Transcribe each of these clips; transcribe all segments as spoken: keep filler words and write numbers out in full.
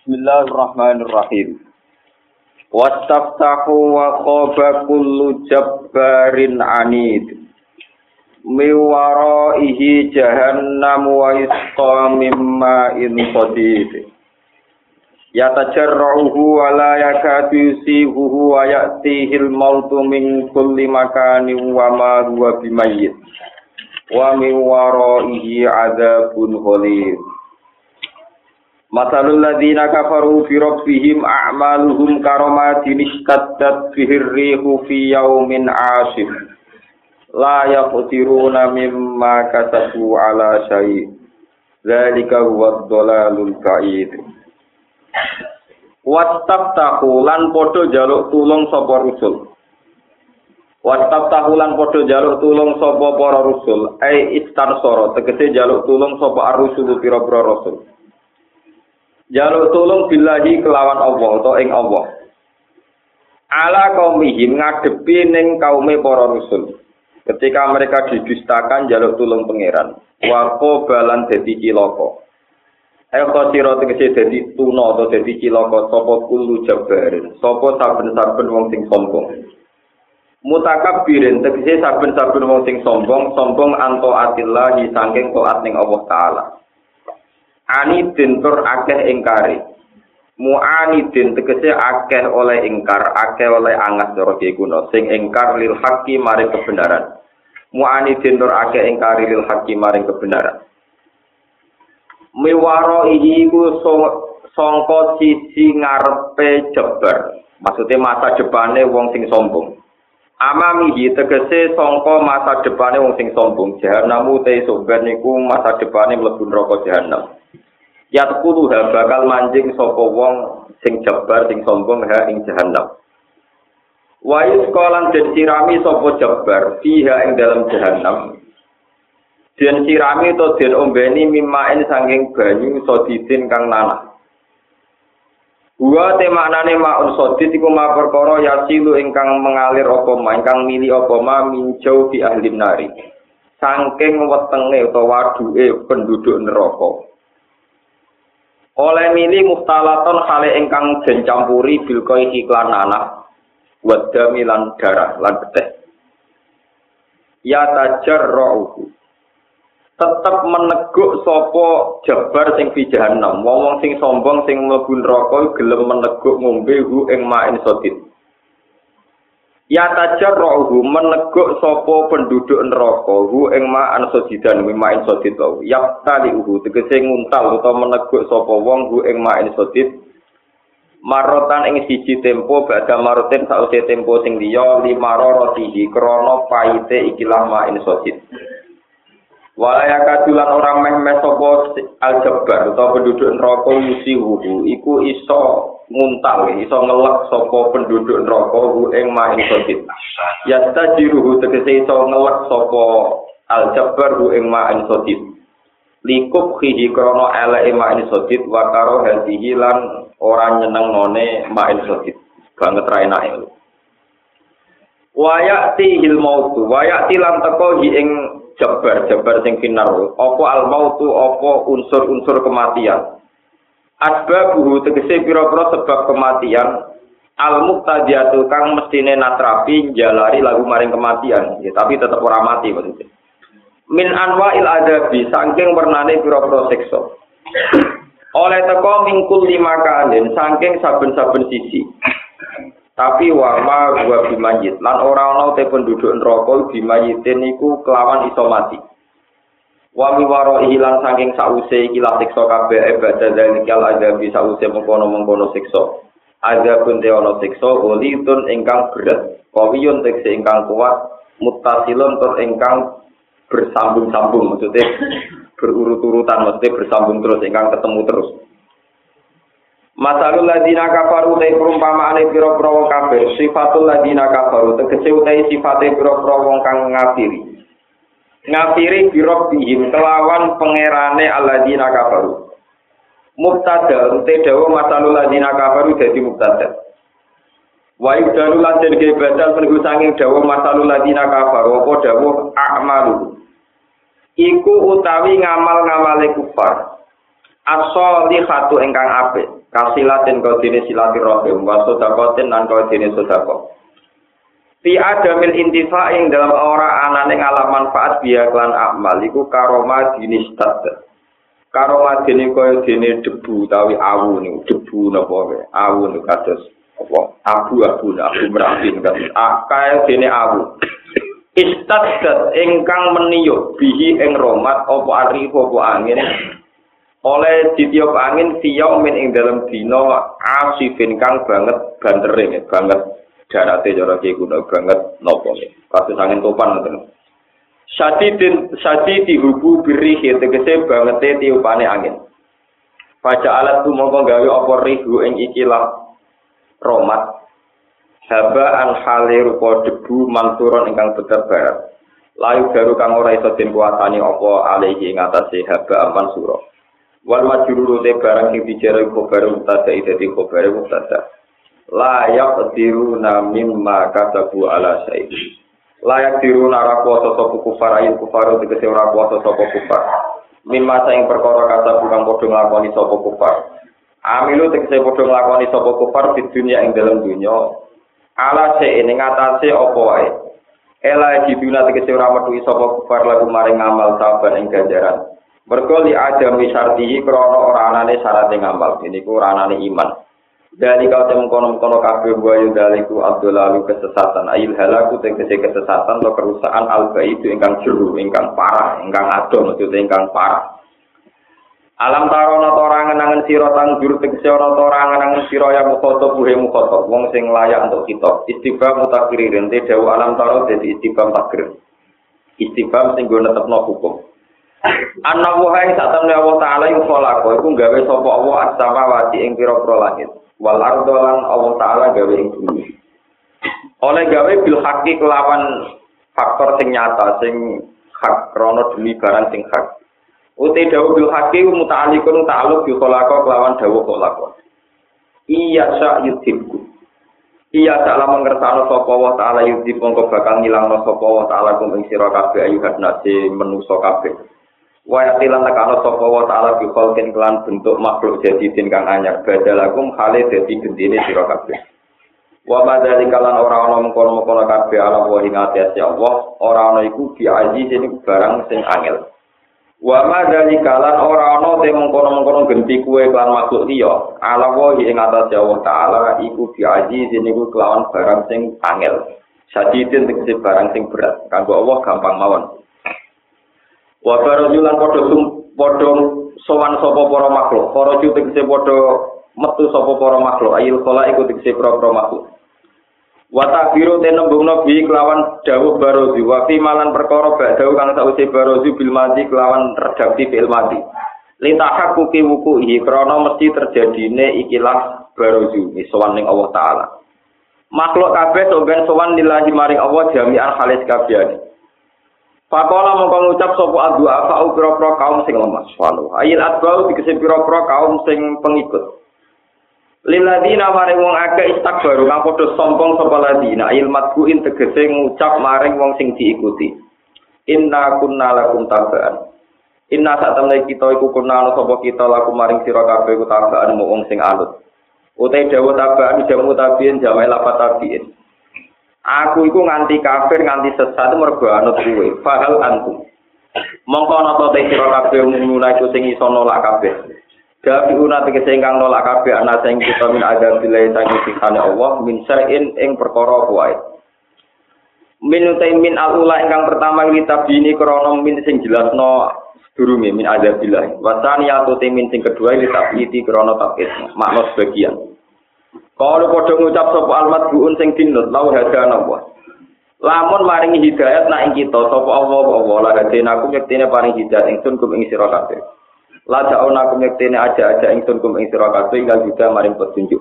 Bismillahirrahmanirrahim. Wastaftahu wa khaba kullu jabbarin anid. Miwaraihi jahannam wa isqa mimma in sadid. Yatajarruhu wa la yakadu yusibuhu wa ya'tihil mautu min kulli makanin wa ma huwa bimayyit. Wa miwaraihi adzabun ghalidh. Masalul ladzina kafaru fi rabbihim a'maluhum karamatin ishtaddat bihir rihu fi yaumin 'asif la yaqdiruna mimma kasabu 'ala syai' dzalika huwad dhalalul ba'id. Wastaftahu lan padha njaluk tulung sapa rusul. Wastaftahu lan padha njaluk tulung sapa para rusul, ai istansara tegese njaluk tulung sapa ar-rusul pira-pira rasul. Jaluk tulung billahi kelawan Allah atau ing Allah. Ala kaumihim ngadepi ning kaume para rusul. Ketika mereka didustakan jaluk tulung pangeran. Wa qabalan dadi cilaka. Ayo kira tegese dadi tuna atau dadi cilaka sapa kullu jabarin, sapa saben-saben wong sing sombong. Mutakabbirin tegese saben-saben wong sing sombong, sombong anto atillahi saking taat ning Allah taala. Anidin tur akeh ingkari. Mu'anidin tegese akeh oleh ingkar, akeh oleh angas cara kuno sing ingkar lil haqqi maring kebenaran. Mu'anidin tur akeh ingkari lil haqqi maring kebenaran. Miwaro ihi ku sangka sisi ngarepe jebar. Maksudnya masa depane wong sing sombong. Amamihi tegese sangka masa depane wong sing sombong. Jahannamu te sobar niku masa depane mlebu neraka jahanam. Yatqulu ha bakal manjing sapa wong sing jebar sing sombong ha ing jahanam. Wa isqalan den sirami sapa jebar fiha ing dalam jahanam. Den sirami to den ombeni mimaen saking banyu sodidin kang nanah. Wa te maknane maun sodid iku ma perkara yasilu ingkang mengalir apa ma ingkang mili apa ma minjau di ahli nari. Saking wetenge utawa waduke penduduk neraka. Oleh mili muftalaton hale ingkang den campuri bil koi iklan anak wadami lan darah lan beteh. Ya tajarruhu tetep meneguk sapa jabar sing fi jahannam wong sing sombong sing mlebu neraka gelem meneguk ngombe hu ing ma'in sadid. Ya tajarruhu meneguk sapa penduduk neraka hu ing ma'an sadidan ma'in sadid wae. Ya talihu tegese nguntal utawa meneguk sapa wong hu ing ma'in sadid marotan ing siji tempo badha maroten sause tempo sing liya limaroratihi krana paite ikilah ma'in sadid. Walaya kadulan orang meh-meh sapa al-jabbar utawa penduduk neraka yusihu iku iso nguntal iso ngelek sapa penduduk neraka hu ing ma'in sadid. Yastajiruhu tegese iso ngelek sapa al-jabbar hu ing ma'in sadid. Likub khihi krana eleke ma'in sadid wa karo hadihi lan ora nyenengne ma'in sadid. Banget ra enake. Wa ya'ti hil mautu wa ya'ti lan teko hi ing jabar jabar sing finar apa al mautu apa unsur-unsur kematian asbabuhu tegese pira-pira sebab kematian al muqtadiyatu kang mestine natrapi jalari lagu maring kematian ya, tapi tetep ora mati maksudnya min anwa'il adabi saking wernane pira-pira siksa oleh teko mingkul lima kanin saking saben-saben sisi. Tapi wa ma wa bimayit lan ora ana te penduduk neraka bimayitin niku kelawan iso mati. Wa miwaro ilang saking sause iki la siksa kabeh ibadah zalikal adabi sause mengkono-mengkono siksa. Ada pun te ana siksa golitun ingkang berat, kawiyun tekse ingkang kuat, muttasilun tur ingkang bersambung-sambung maksudnya berurut-urutan maksudnya bersambung terus ingkang ketemu terus. Masalul ladina kafaru te perumpamaane pira-pira wong kafir, sifatul ladina kafaru tegese utahe sifate pira-pira wong kang ngafiri. Ngafiri birabbihim kelawan pangerane alladina kafaru. Mubtada te dawa masalul ladina kafaru dadi mubtada. Wa yudalu lan den badal penunggu sanging dawa masalul ladina kafaru apa dawuh a'malu. Iku utawi ngamal-ngamale kufar. as-sholihatu ingkang apik kasilatin kodene silaturahim wa sedaqatin lan kodene sedekah fi adamil intifa ing dalam ora anane ngalam manfaat biya klan amal iku karoma dinis tat karoma dene kaya dene debu utawi awu niku debu napa wae awu niku kados apa abu-abu abu merapi kados akae dene awu istadat ingkang meniyuk bihi ing romat apa ari apa angin oleh ditiup angin siyaw min ing dalam dina asifin kang banget bandering banget darate cara ki kuno banget napa nggih kados angin topan ngoten sadidin sadidi hubu biri tegese bangete tiupane angin baca alat tumangka gawe apa rihu ing ikilah romat haba an hale rupa debu manturon ingkang beter-beter layu garu kang ora iso den kuwatani apa alihi ing atase haba aman sura wal majruru te barang sing dijero khabar mutada dadi khabar mutada layak diruna mimma kasabu ala syai layak diruna ra kuwasa sapa kufar ayin kufar tegese ora kuwasa sapa kufar mimma saing perkara kasabu kang padha nglakoni sapa kufar amilu tegese padha nglakoni sapa kufar di dunia ing dalam dunya ala syai ing atase apa wae ela dibuna tegese ora metu sapa kufar lagu maring amal saban ing ganjaran mergo li adami syartihi krana ora anane syarat ngamal niku ora anane iman dari kau temu kono-kono kabeh wayu daliku abdulalu kesesatan ayil halaku tegese kesesatan atau kerusakan alba itu ingkang jero ingkang parah ingkang adon maksudnya ingkang parah alam tarono ora ngenangen sira tangjur tegese ora ora ngenangen sira ya mukhotob buhe mukhotob wong sing layak untuk kita istibam mutakririn te dawu alam taro dadi istibam takrir istibam sing go netepno hukum ana wae sak temne Allah taala ing kholaqo iku gawe sapa Allah as-samawati ing pira-pira langit wal ardo lan Allah taala gawe ing bumi oleh gawe bil haqqi kelawan faktor sing nyata sing hak krana demi barang sing hak uti dawuh bil haqqi muta'alliqun ta'alluq bi kholaqo kelawan dawuh kholaqo iya sa yudhibku iya salah mengersano sapa Allah taala yudhib mongko bakal ngilangno sapa Allah taala kum ing sira kabeh ayu hadnase manusa kabeh wa yatilan takana sapa wa ta'ala bi khalqin kelan bentuk makhluk jadi din kang anyar badalakum khale dadi gendine sira kabeh wa madzalika lan ora ana mengkono-mengkono kabeh ala wa ing atase Allah ora ana iku bi aziz niku barang sing angel wa madzalika lan ora ana te mengkono-mengkono genti kuwe kelan makhluk liya ala wa ing atase Allah taala iku bi aziz niku kelawan barang sing angel sadidin tegese barang sing berat kanggo Allah gampang mawon wa barajulan padha sum padha sowan sapa para makhluk para ju tegese padha metu sapa para makhluk ayil khala iku tegese para makhluk wa tabiru tenembungna bi kelawan dawuh barozi wa fi malan perkara badau kang sause barozi bil mati kelawan redaksi bil mati litahaqquqi wuquhi krana mesti terjadine ikilah barozi sowan ning Allah taala makhluk kabeh soben sowan lillahi maring Allah jami'an halis kabeh. Pakola mongko ngucap sapa adua fa ukra-ukra kaum sing lemah walu ayil adbau dikese pira-pira kaum sing pengikut lilladina maring wong akeh istakbaru kang padha sombong sapa ladina ayil matbuin tegese ngucap maring wong sing diikuti inna kunna lakum tabaan inna satamne kita iku kunna sapa kita lakum maring sira kabeh iku tabaan wong sing anut utai dawuh tabaan jamu tabiin jamae lafat tabiin aku iku nganti kafir nganti sesat mergo anut kuwe fahal antum mongko ana ta sira kabeh mulai iku sing iso nolak kabeh gawe una tegese ingkang nolak kabeh ana sing kita min ada bilai sangi siksane Allah min sa'in ing perkara wae min min alula ingkang pertama kita bini krana min sing jelasno sedurunge min ada bilai wasani atau min sing kedua iki tabiti krana tabit makna sebagian kalau padha ngucap sapa almat buun sing dinut lau hadana wa lamun maringi hidayat nak ing kita sapa Allah Allah la hadena aku yektene paring hidayat ingsun kum ing sira kabeh la jauna aku yektene aja-aja ingsun kum ing sira kabeh ingkang juga maring petunjuk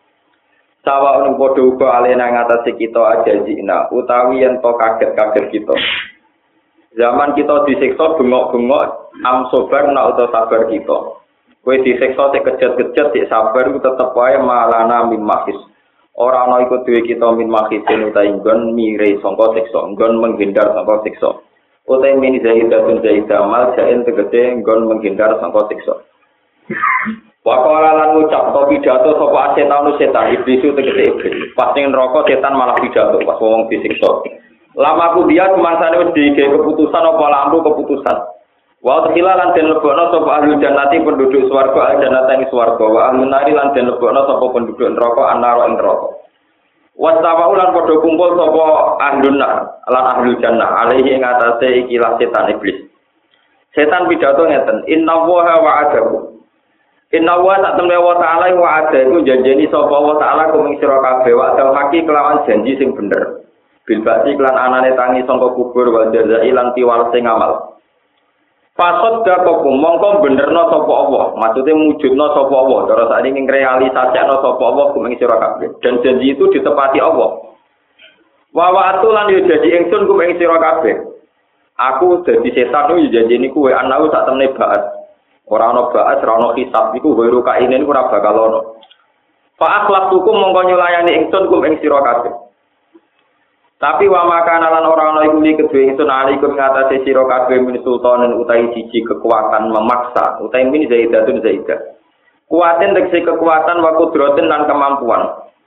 sawa ono padha uga alena ngatasi kita aja jina utawi yen to kaget-kaget kita zaman kita disiksa bengok-bengok am sobar nak utawa sabar kita kowe disiksa sik kejet-kejet sik sabar ku tetep wae malana min mahis. Ora ana iku duwe kita min mahisin utahe nggon mire sangka siksa, nggon menghindar sangka siksa. Utahe min zahidatun zahidamal jain tegese nggon menghindar sangka siksa. Waqala lan ngucap to pidato sapa setan setan iblis tegese iblis. Pas ning neraka setan malah pidato pas wong disiksa. Lama aku dia semangsane wis dikek keputusan apa lampu keputusan. Wa tekila lan den lebokno sapa ahli jannati penduduk swarga al jannata ing swarga wa ahli nari lan den lebokno sapa penduduk neraka anara ing neraka. Wastawa lan padha kumpul sapa ahli nar lan ahli jannah alaihi ing atase ikilah setan iblis. Setan pidato ngeten, inna wa wa'adahu. Inna wa sak temne wa ta'ala wa ada iku janjeni sapa wa ta'ala kuming sira kabeh wa dal haki kelawan janji sing bener. Bil ba'si lan anane tangi sangka kubur wa jazai lan tiwal sing amal. Fasad dakokum mongko benerno sapa Allah, maksude mujudno sapa Allah, cara sakniki ngrealisasikno sapa Allah kuming sira kabeh. Dan janji itu ditepati Allah. Wa wa'atu lan yo janji ingsun kuming sira kabeh. Aku dadi setan yo janjeni kuwe anaku sak temne ba'at. Ora ana ba'as, ora ana hisab iku weru kaine niku ora bakal ana. Fa akhlaqtukum mongko nyulayani ingsun kum ing sira kabeh. Tapi wa makana lan ora ana iku li kedue ingsun alaikum ngatasi sira kabeh min sultanen utahi siji kekuatan memaksa, utahi min zaidatun zaidah. Kuaten tegese kekuatan wa kudraten lan kemampuan.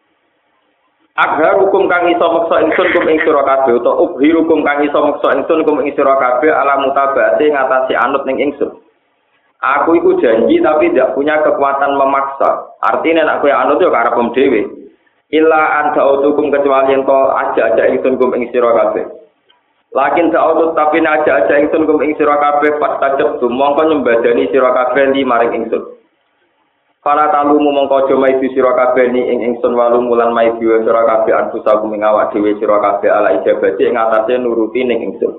Agar hukum kang iso meksa ingsun kum ing sira kabeh utawa ubhirukum kang iso meksa ingsun kum ing sira kabeh ala mutabate ngatasi anut ning ingsun. Aku itu janji tapi tidak punya kekuatan memaksa. Artinya nek kowe anut yo karepem dhewe. Illa anta utukum kecuali ento aja-aja ingsun kum ing sira kabeh. Lakin ta'udut tapi aja-aja ingsun kum ing sira kabeh pas tajeb mongko nyembadani sira kabeh li maring ingsun. Para talumu mongko aja maidu sira kabeh ni ing ingsun walum lan maidu sira kabeh anfusakum ing awak dhewe sira kabeh ala ijabati ing atase nuruti ning ingsun.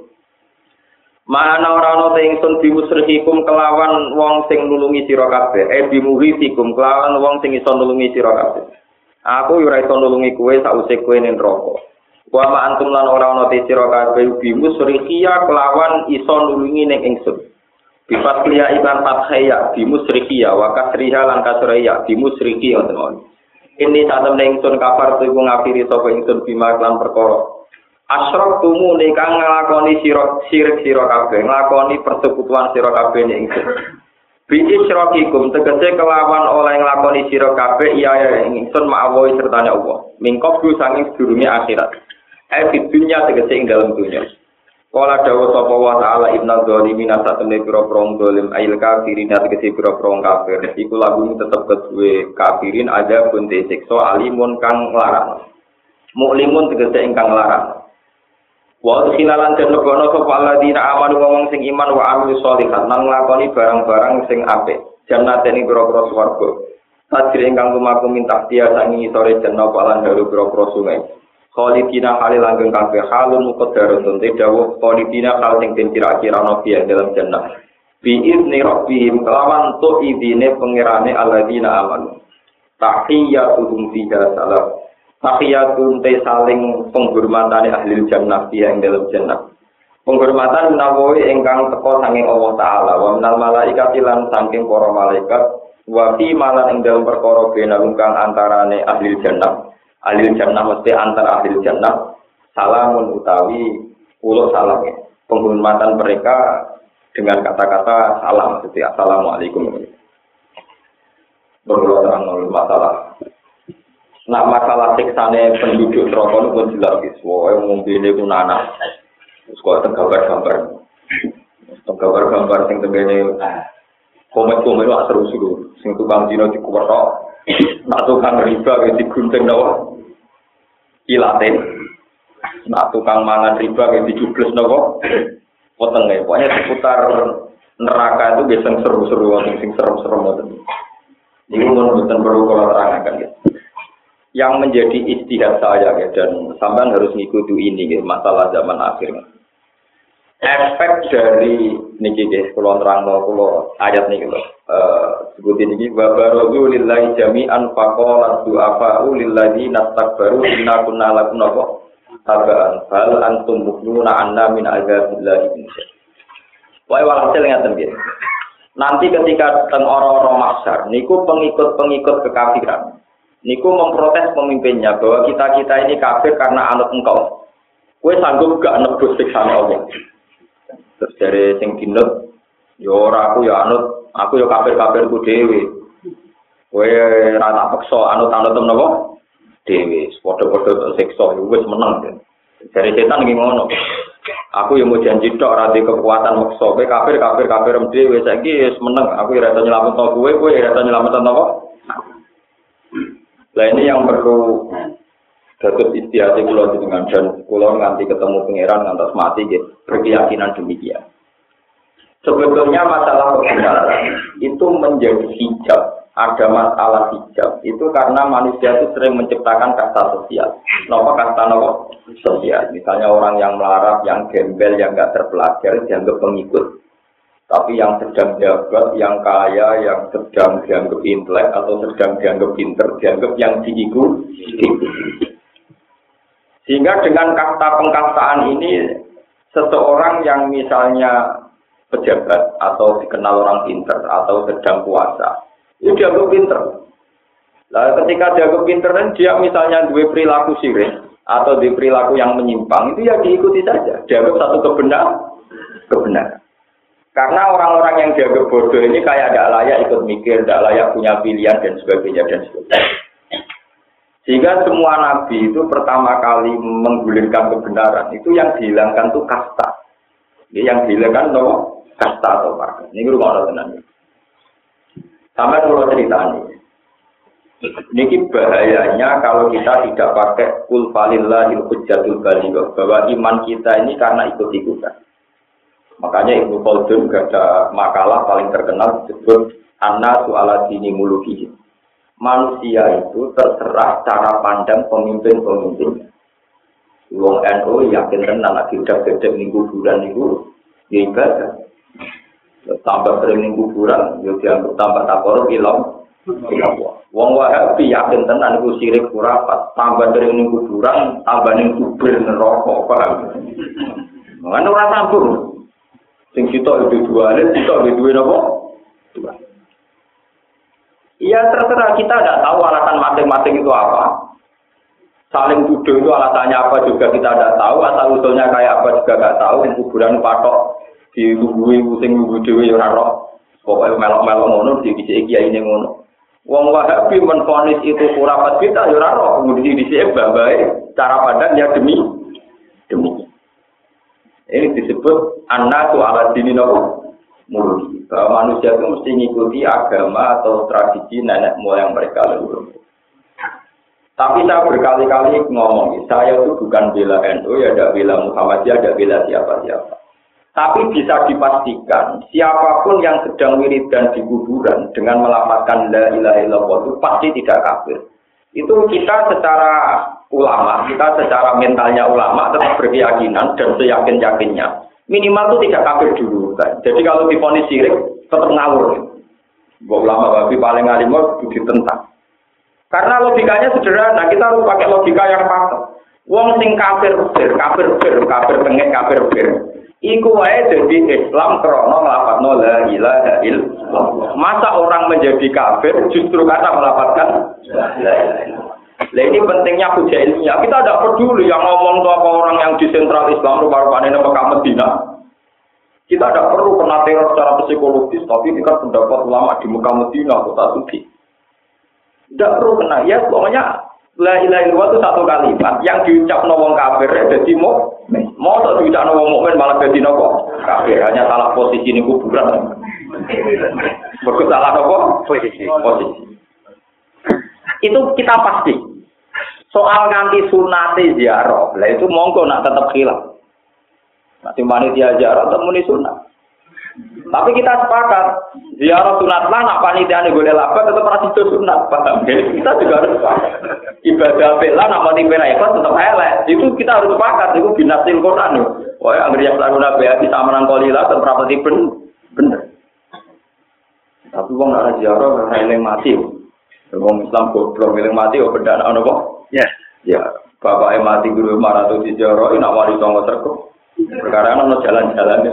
Mana ora ana ingsun bimusrihikum kelawan wong sing nulungi sira kabeh, e bimuhitikum kelawan wong sing iso nulungi sira kabeh. Aku ora iso nulungi kowe sause kowe ning neraka. Wa ma antum lan ora ana te sira kabeh bimusrihiya kelawan iso nulungi ning ingsun. Bifat liya ikan fathaya bimusrihiya wa kasriha lan kasriya bimusrihi wonten mawon. Ini satem ning ingsun kafar tu ngafiri sapa ingsun bima lan perkara. Asrok tumu nikang nglakoni sira sirik sira kabeh nglakoni persekutuan sira kabeh ning ingsun. Bi isrokikum tegese kelawan oleh nglakoni sira kabeh iya ya ingsun ma'awi sertane Allah. Mingkop ku sanging sedurunge akhirat. Eh di dunya tegese ing dalem dunya. Kala dawuh sapa wa ta'ala innal zalimin satamne pira-pira zalim ail kafirin tegese pira-pira kafir. Iku lagu tetep kedue kafirin ada pun disiksa alimun kang larang. Muklimun tegese ingkang larang. Wa khilalan den lebono sapa alladzina amanu wong sing iman wa amil sholihat lan nglakoni barang-barang sing apik jannate ing pira-pira swarga tajri ingkang lumaku minta dia sangi sore jenna lan daru pira-pira sungai khalidina halil langgeng kabeh halun muqaddaratun te dawuh khalidina hal sing den kira-kira ana piye dalam jannah bi izni rabbihim kelawan tu idine pangerane alladzina amanu tahiyatuhum fiha salam. Tahiyatun te saling penghormatan ahli jannah dia ing dalam jannah. Penghormatan menawi ingkang teka saking Allah taala wa minal malaikati lan saking para malaikat wa fi malan ing dalam perkara benalung kang antarane ahli jannah. Ahli jannah mesti antara ahli jannah salamun utawi ulo salam. Penghormatan mereka dengan kata-kata salam seperti assalamualaikum. Berdoa terang masalah. Nak masalah siksane penduduk neraka itu pun jelas wis wae ngombene ku nanah. Wis kok gambar-gambar. Gambar-gambar sing tengene komen-komen wak seru-seru. Sing tukang dino dikuwetok. Nak tukang riba wis digunting nawa. Ilate. Nak tukang mangan riba wis dijubles nawa. Wetenge. Pokoknya seputar neraka itu biasa seru-seru sing serem-serem ngoten. Ini mun mboten perlu kula terangaken ya. Yang menjadi ijtihad saya ya, dan sampean harus ngikuti ini ya, masalah zaman akhir. Efek dari niki nggih kula nerangno kula ayat niki lho. Eh sebut niki wa barazu lillahi jami'an faqala du'afa lilladzina takbaru inna kunna lakum napa tabaan fal antum mukminuna anna min azabillahi. Wae walhasil ngaten nggih. Nanti ketika teng ora-ora mahsyar niku pengikut-pengikut kekafiran niku memprotes pemimpinnya bahwa kita-kita ini kafir karena anut engkau. Kowe sanggup gak nebus siksane Allah. Terus dari sing dinut, ya ora aku ya anut Aku yo kafir-kafir ku dhewe. Kowe ra tak peksa anut-anut napa? Dhewe. Padha-padha siksa wis meneng. Dari setan iki ngono. Aku yang mau janji tok ora di kekuatan maksa. Kowe kafir-kafir kafir dhewe saiki wis meneng. Aku ora iso nyelametno kowe, kowe ora iso nyelametno napa? Lah ini yang perlu dapat istiadat kula dengan dan kula nganti ketemu pangeran ngantos mati nggih berkeyakinan demikian. Sebetulnya masalah kebenaran itu menjadi hijab, ada masalah hijab itu karena manusia itu sering menciptakan kasta sosial. Napa kasta napa? Sosial. Misalnya orang yang melarat, yang gembel, yang enggak terpelajar dianggap pengikut. Tapi yang sedang jabat, yang kaya, yang sedang dianggap intelek atau sedang dianggap pinter, dianggap yang diikuti. Sehingga dengan kasta pengkastaan ini, seseorang yang misalnya pejabat atau dikenal orang pinter atau sedang puasa, itu dianggap pinter. Lalu ketika dianggap pinter, dia misalnya dua perilaku sirik atau di perilaku yang menyimpang, itu ya diikuti saja. Dianggap satu kebenar, kebenaran. Karena orang-orang yang dianggap bodoh ini kayak tidak layak ikut mikir, tidak layak punya pilihan dan sebagainya dan sebagainya. Sehingga semua nabi itu pertama kali menggulirkan kebenaran itu yang dihilangkan itu kasta. Yang dihilangkan itu kasta atau marga. Ini rumah Allah tenang. Sampai kalau cerita ini. Ini bahayanya kalau kita tidak pakai kul falillahil hujjatul baligh, bahwa iman kita ini karena ikut-ikutan. Makanya Ibnu Khaldun ada makalah paling terkenal disebut An-nasu ala dini mulukihi. Manusia itu terserah cara pandang pemimpin-pemimpin. Wong N U yakin tenan nek didak-dak ning kuburan niku ya ibadah. Tambah sering ning kuburan yo dianggap tambah takor ilang. Wong Wahabi yakin tenan niku sirik khurafat, tambah sering ning kuburan tambah ning kubur neraka, paham. Ngono ora sambung. Sing sitok itu dua, sitok itu dua apa? Dua. Iya terserah, kita tidak tahu alasan masing-masing itu apa. Saling tuduh itu alasannya apa juga kita tidak tahu. Asal usulnya kayak apa juga tidak tahu. Kuburan patok ditungguin pusing nunggu dewi ora roh. Pokoknya melok-melok ngono di dhisik kiai ini ngono. Wong Wahabi menfonis itu khurafat kita ya ora roh. Kemudian di dhisik bae cara pandang ya demi demi. Ini disebut an-nasu ala dini muluki. Bahwa manusia itu mesti mengikuti agama atau tradisi nenek moyang mereka leluhur. Tapi saya berkali-kali ngomong, saya itu bukan bela N U, ya ada bela Muhammadiyah, ada bela siapa-siapa. Tapi bisa dipastikan, siapapun yang sedang wiridan di kuburan dengan melafazkan la ilaha illallah itu pasti tidak kafir. Itu kita secara ulama, kita secara mentalnya ulama tetap berkeyakinan dan seyakin-yakinnya. Minimal itu tidak kafir dulu. Jadi kalau divonis syirik tetap ngawur. Bahwa ulama babi paling alim itu ditentang. Karena logikanya sederhana, kita harus pakai logika yang fakta. Wong sing kafir bir, kafir bir, kafir tengek, kafir bir. Iku wae jadi Islam krana nglafadzno la ilaha illallah. Masa orang menjadi kafir justru karena melafadzkan la ilaha illallah. Nah ini pentingnya hujah ilmiah. Kita tidak peduli yang ngomong itu apa orang yang di sentral Islam rupa-rupanya di Mekah Medina. Kita tidak perlu kena teror secara psikologis, tapi ini kan pendapat ulama di Mekah Medina, kota suci. Tidak perlu kena. Ya pokoknya la ilaha illallah itu satu kalimat yang diucap wong kafir jadi mukmin. Mau tak diucap wong mukmin malah jadi nopo kafir. Hanya salah posisi ini kuburan. Berikut salah nopo posisi. Posisi. Itu kita pasti. Soal nganti sunate ziarah, lah itu monggo nak tetap khilaf. Nanti panitia ziarah temuni sunat. Tapi kita sepakat, ziarah sunat lah nak panitiane golek laba tetap ora sido sunat, paham ya? Kita juga harus sepakat. Ibadah bela nak mati pera ikhlas tetap elek. Itu kita harus sepakat, itu binasil Quran. Wah, anggere yang lalu nabi ati samanan kolila tetep rapati bener. Tapi wong ora ziarah ora eling mati. Wong Islam goblok eling mati kok beda ana kok? Ya. Ya, bapak mati guru maraton di ziarah nak wali songo terkep. Perkara ana jalan-jalan.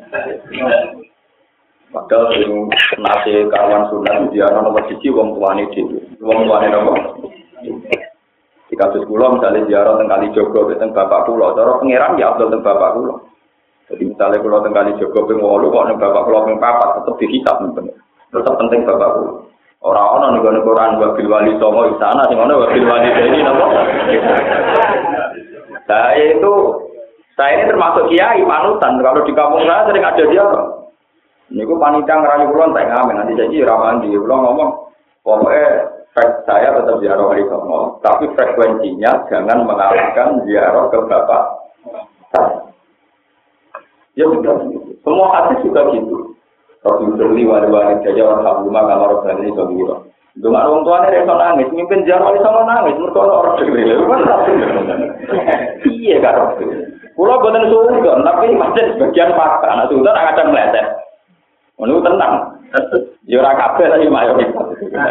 Padahal sing nate kawan sunat dia ana nomor siji wong tuane dhewe. Wong tuane nopo? Di kasus kula misalnya ziarah teng Kalijogo teng bapak kula, cara pangeran ya abdul teng bapak kula. Jadi misalnya kula teng Kalijogo ping wolu kok ning bapak kula ping papat tetep dihisab ning bener. Tetap penting bapakku. Orang-orang nih kalau Quran wabil wali songo di sana, sih mana wabil wali ini nopo. Saya itu, saya ini termasuk kiai panutan. Kalau di kampung saya sering ada dia. Ini gue panitia ngerayu kulon, tak ngamen nanti jadi ramalan di kulon ngomong, pokoknya frek saya tetap ziarah wali songo, tapi frekuensinya jangan mengalahkan ziarah ke bapak. Ya sudah, semua hadis juga gitu. Rasul Sirli wali-wali saja orang rumah kamar orang ini sobiro. Dengan orang tuanya dia so nangis, mimpin ziarah wali songo nangis, mereka orang degil. Iya kan? Pulau buatan suudon, tapi masih sebagian fakta. Anak suudon akan meleset. Menurut tenang. Jurang kabeh tadi mayoritas.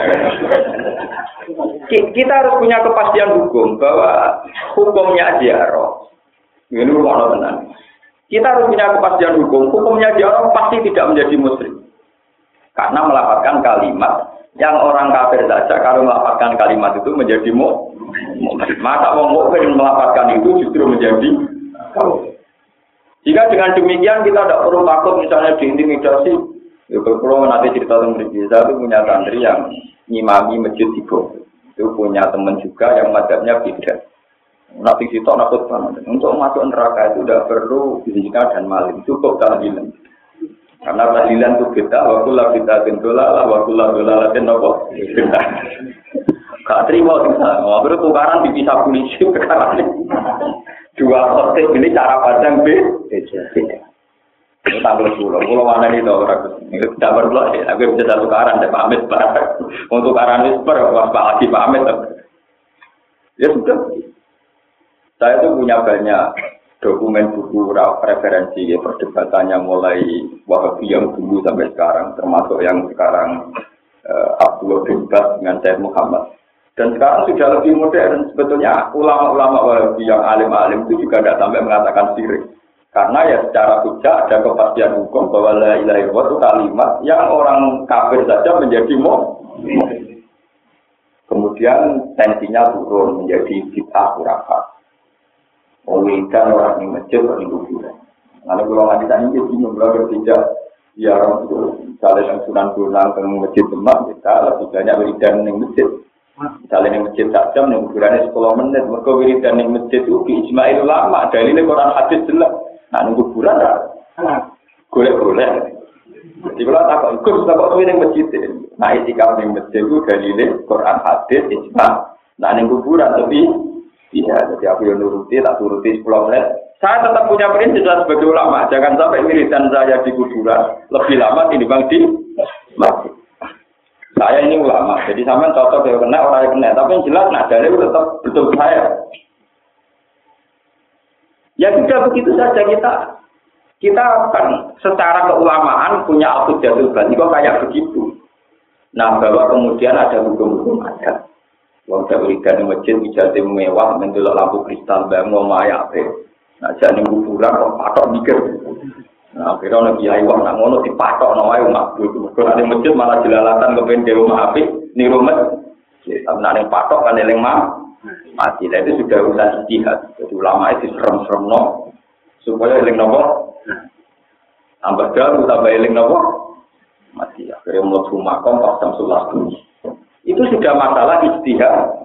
Kita harus punya kepastian hukum bahwa hukumnya ziarah. Ini rumah tenang. Kita harus punya kepastian hukum. Hukumnya ziarah pasti tidak menjadi musyrik. Karena melafalkan kalimat yang orang kafir saja kalau melafalkan kalimat itu menjadi mu. Masa wong mukmin melafalkan itu justru menjadi kafir. Jika dengan demikian kita tidak perlu takut misalnya diintimidasi. Ya, kalau nanti cerita tentang Rizal itu punya santri yang ngimami masjid di Bogor. Itu punya teman juga yang mazhabnya beda. Nanti situ nakut banget. Untuk masuk neraka itu tidak perlu zina dan maling, cukup tahlilan. Karena tahlilan itu beda. Wakulah kita gendola lah, wakulah dola latin apa? Beda. Gak terima kita. Mau bertukaran dipisah polisi perkara ini. Dua kotek ini cara pandang beda. Ini tanggal sepuluh, kalau mana ini tahu ragu. Ini tidak perlu sih, aku bisa satu karan, saya pamit barang. Untuk karan itu per, pas lagi pamit. Ya sudah. Saya itu punya banyak dokumen buku referensi, ya, perdebatannya mulai Wahabi yang dulu sampai sekarang, termasuk yang sekarang uh, Abdullah bin Bas dengan Syed Muhammad. Dan sekarang sudah lebih modern. Sebetulnya ulama-ulama Wahabi yang alim-alim itu juga tidak sampai mengatakan syirik. Karena ya secara hujah ada kepastian hukum bahwa la ilaha illallah itu kalimat yang orang kafir saja menjadi mu. Kemudian tensinya turun menjadi bid'ah khurafat. Mewiridan orang di masjid atau di kuburan. Karena kalau nggak bisa ini jadi membelah tidak ya orang itu misalnya yang Sunan Bonang ke masjid Demak kita lebih banyak wiridan di masjid. Misalnya di masjid tak jam, di kuburannya sepuluh menit. Mereka wiridan di masjid itu di ijma'il ulama. Dalilnya Quran hadis jelas. Nah, nunggu kuburan lah. Golek-golek. Jadi kalau tak kok ikut, tak kok suwi ning masjid. Nah, itikaf ning masjid itu dalile Quran hadis ijma'. Nah, ning kuburan tapi iya, jadi aku yang nuruti, tak turuti sepuluh menit. Saya tetap punya prinsip sebagai ulama. Jangan sampai wiridan saya di kuburan lebih lama dibanding di masjid. Saya ini ulama, jadi sampean cocok ya kena orang yang kena. Tapi yang jelas, nah dalil tetap betul saya. Ya sudah begitu saja kita kita akan secara keulamaan punya al-hujjatul bani kok kayak begitu. Nah bahwa kemudian ada hukum-hukum adat. Wong wiridan di masjid ijazah mewah mendelok lampu kristal bangun maya ape. Nah jane kuburan kok patok mikir. Nah akhirnya ana kiai wong nang ngono dipatokno wae makbul. Kok ning masjid malah jelalatan kepen dhewe apik ning rumah. Ya sampeyan ning patok kan eling mah mati. Lah itu sudah urusan ijtihad. Jadi ulama itu serem-serem no supaya eling nopo tambah dalu tambah eling nopo mati. Akhirnya mlebu makom pas jam sebelas itu sudah masalah ijtihad.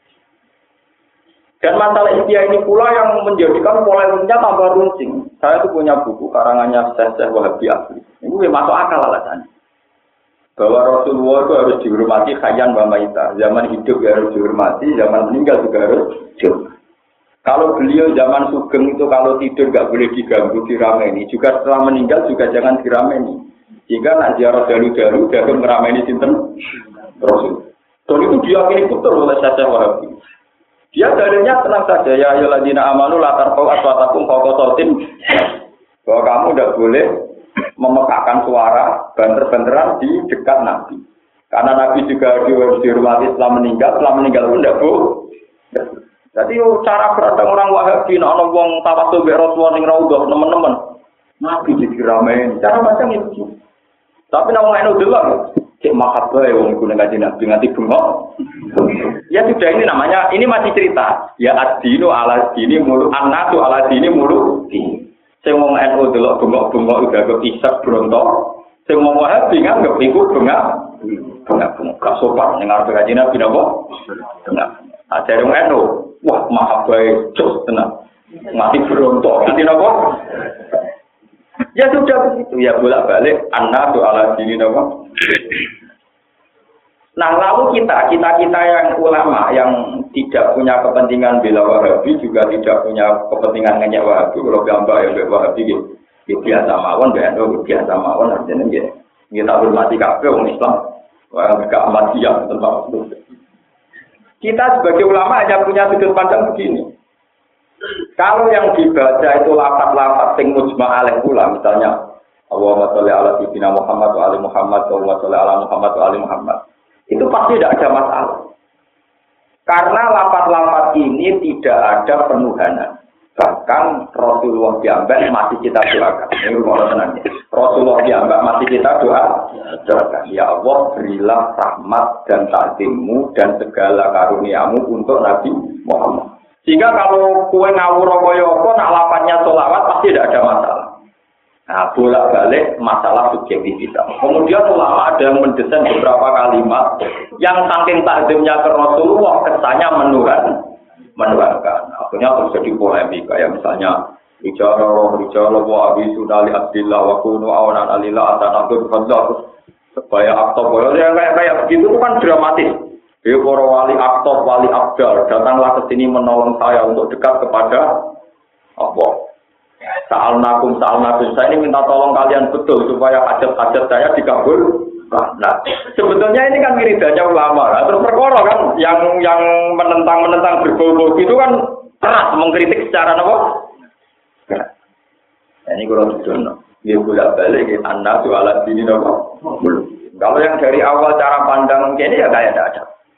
Dan masalah ijtihad ini pula yang menjadikan polemiknya tambah runcing. Saya itu punya buku karangannya Syekh Wahabi Asli. Ini masuk akal alasannya. Bahwa Rasulullah itu harus dihormati khayyan wa maita. Zaman hidup ya harus dihormati, zaman meninggal juga harus dihormati. Kalau beliau zaman sugeng itu kalau tidur nggak boleh diganggu, dirameni. Juga setelah meninggal juga jangan dirameni. Jika nak ziarah dalu-dalu, dalam merameni sinten Rasul. Dan itu diyakini betul oleh Syekh Wahabi. Dia dalilnya tenang saja, ya ayyuhalladzina amanu la tarfa'u aswatakum fawqa sautin. Bahwa kamu tidak boleh memekakkan suara banter-banteran di dekat Nabi. Karena Nabi juga harus dihormati setelah meninggal, setelah meninggal pun tidak boleh. Jadi cara berdatang orang Wahabi, ana wong tawasul mbek Rasulullah ning raudhah teman-teman. Nabi diramein, cara macam itu. Tapi nek wong anu delok, cek mahabbah wong iku ning kanjeng Nabi nganti bengok. Ya sudah ini namanya, ini masih cerita. Ya ad-dinu ala dini mulu annatu ala dini mulu. Sing wong N U delok bengok-bengok udah kok isak bronto. Sing wong Wahabi nganggep iku bengak, bengak bengak gak sopan ning arep kaji Nabi napa? Bengak. Ajare wong eno, wah maha bae jos tenan. Mati berontok, nanti napa? Ya sudah begitu, ya bolak-balik anna ala dini napa? Nah, lalu kita, kita-kita yang ulama yang tidak punya kepentingan bela Wahabi juga tidak punya kepentingan ngenyek Wahabi. Kalau gambar ya bela Wahabi gitu. Ya biasa mawon, biasa biasa mawon artinya gitu. Kita hormati kabeh wong Islam. Wah, enggak amat siap tentang itu. Kita sebagai ulama hanya punya sudut pandang begini. Kalau yang dibaca itu lafaz-lafaz sing mujma' alaih pula, misalnya Allahumma sholli ala sayyidina Muhammad wa ali Muhammad, Allahumma sholli ala Muhammad wa ali Muhammad. Itu pasti tidak ada masalah. Karena lafaz-lafaz ini tidak ada penuhanan. Bahkan Rasulullah diambak masih kita doakan. Ini rumah tenangnya. Rasulullah diambak masih kita doa. Doakan. Ya Allah, berilah rahmat dan takzimmu dan segala karuniamu untuk Nabi Muhammad. Sehingga kalau kue ngawur kaya apa, nak lafaznya sholawat pasti tidak ada masalah. Nah, bolak-balik masalah subjektivitas. Kemudian ulama ada yang mendesain beberapa kalimat yang saking takzimnya ke Rasulullah kesannya menuhan, menuhankan. Akhirnya terus jadi polemik kayak misalnya bicara roh bicara wa abi sunali abdillah wa kunu awanan alillah atanatul fadlah supaya aktor yang kayak kayak begitu itu kan dramatis. Ya para wali aktor wali abdal datanglah ke sini menolong saya untuk dekat kepada Allah. Sa'al nakum, sa'al nakum, saya ini minta tolong kalian betul supaya hajat-hajat saya dikabul. Nah, sebetulnya ini kan wiridanya ulama. Nah, terus perkara kan yang yang menentang-menentang berbau-bau itu kan keras mengkritik secara apa? Nah, ini kalau dijono, dia bolak-balik ke anda soal ini apa? Kalau yang dari awal cara pandang ini ya kayak tidak ada.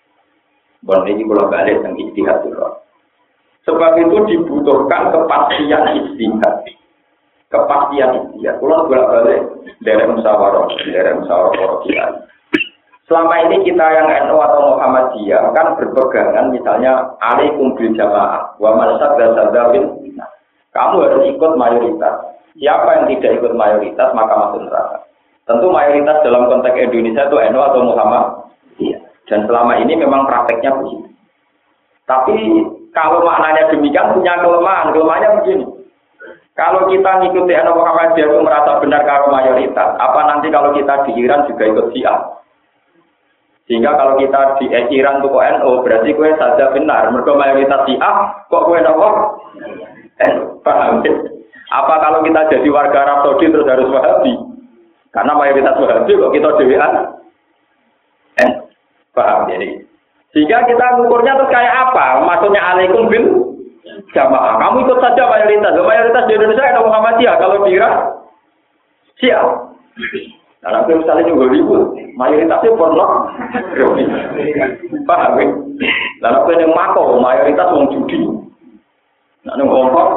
Bon ini bolak-balik yang ijtihad dulu. Sebab itu dibutuhkan kepastian ijtihad. Kepastian ijtihad. Kalau bolak-balik dari musyawarah, dari musyawarah para kiai. Selama ini kita yang N U atau Muhammadiyah kan berpegangan misalnya alaikum bil jamaah wa man sadda sadda bil. Kamu harus ikut mayoritas. Siapa yang tidak ikut mayoritas maka masuk neraka. Tentu mayoritas dalam konteks Indonesia itu N U atau Muhammadiyah. Dan selama ini memang prakteknya begitu. Tapi kalau maknanya demikian punya kelemahan. Kelemahannya begini. Kalau kita ngikuti N U Muhammadiyah itu merasa benar kalau mayoritas, apa nanti kalau kita di Iran juga ikut Syiah? Sehingga kalau kita di Iran itu kok N U, berarti kue saja benar. Mereka mayoritas Syiah, kok kue nopo? N U. Paham? Apa kalau kita jadi warga Arab Saudi terus harus Wahabi? Karena mayoritas Wahabi kok kita dewean? N U. Paham? Jadi sehingga kita ngukurnya terus kayak apa? Maksudnya alaikum bil jamaah. Kamu ikut saja mayoritas. Mayoritas di Indonesia ada Muhammadiyah. Kalau di Irak, siap. Karena kalau misalnya juga ribut, mayoritasnya porno. Paham? Lalu kalau yang mako, mayoritas orang judi. Nah, yang ngomong.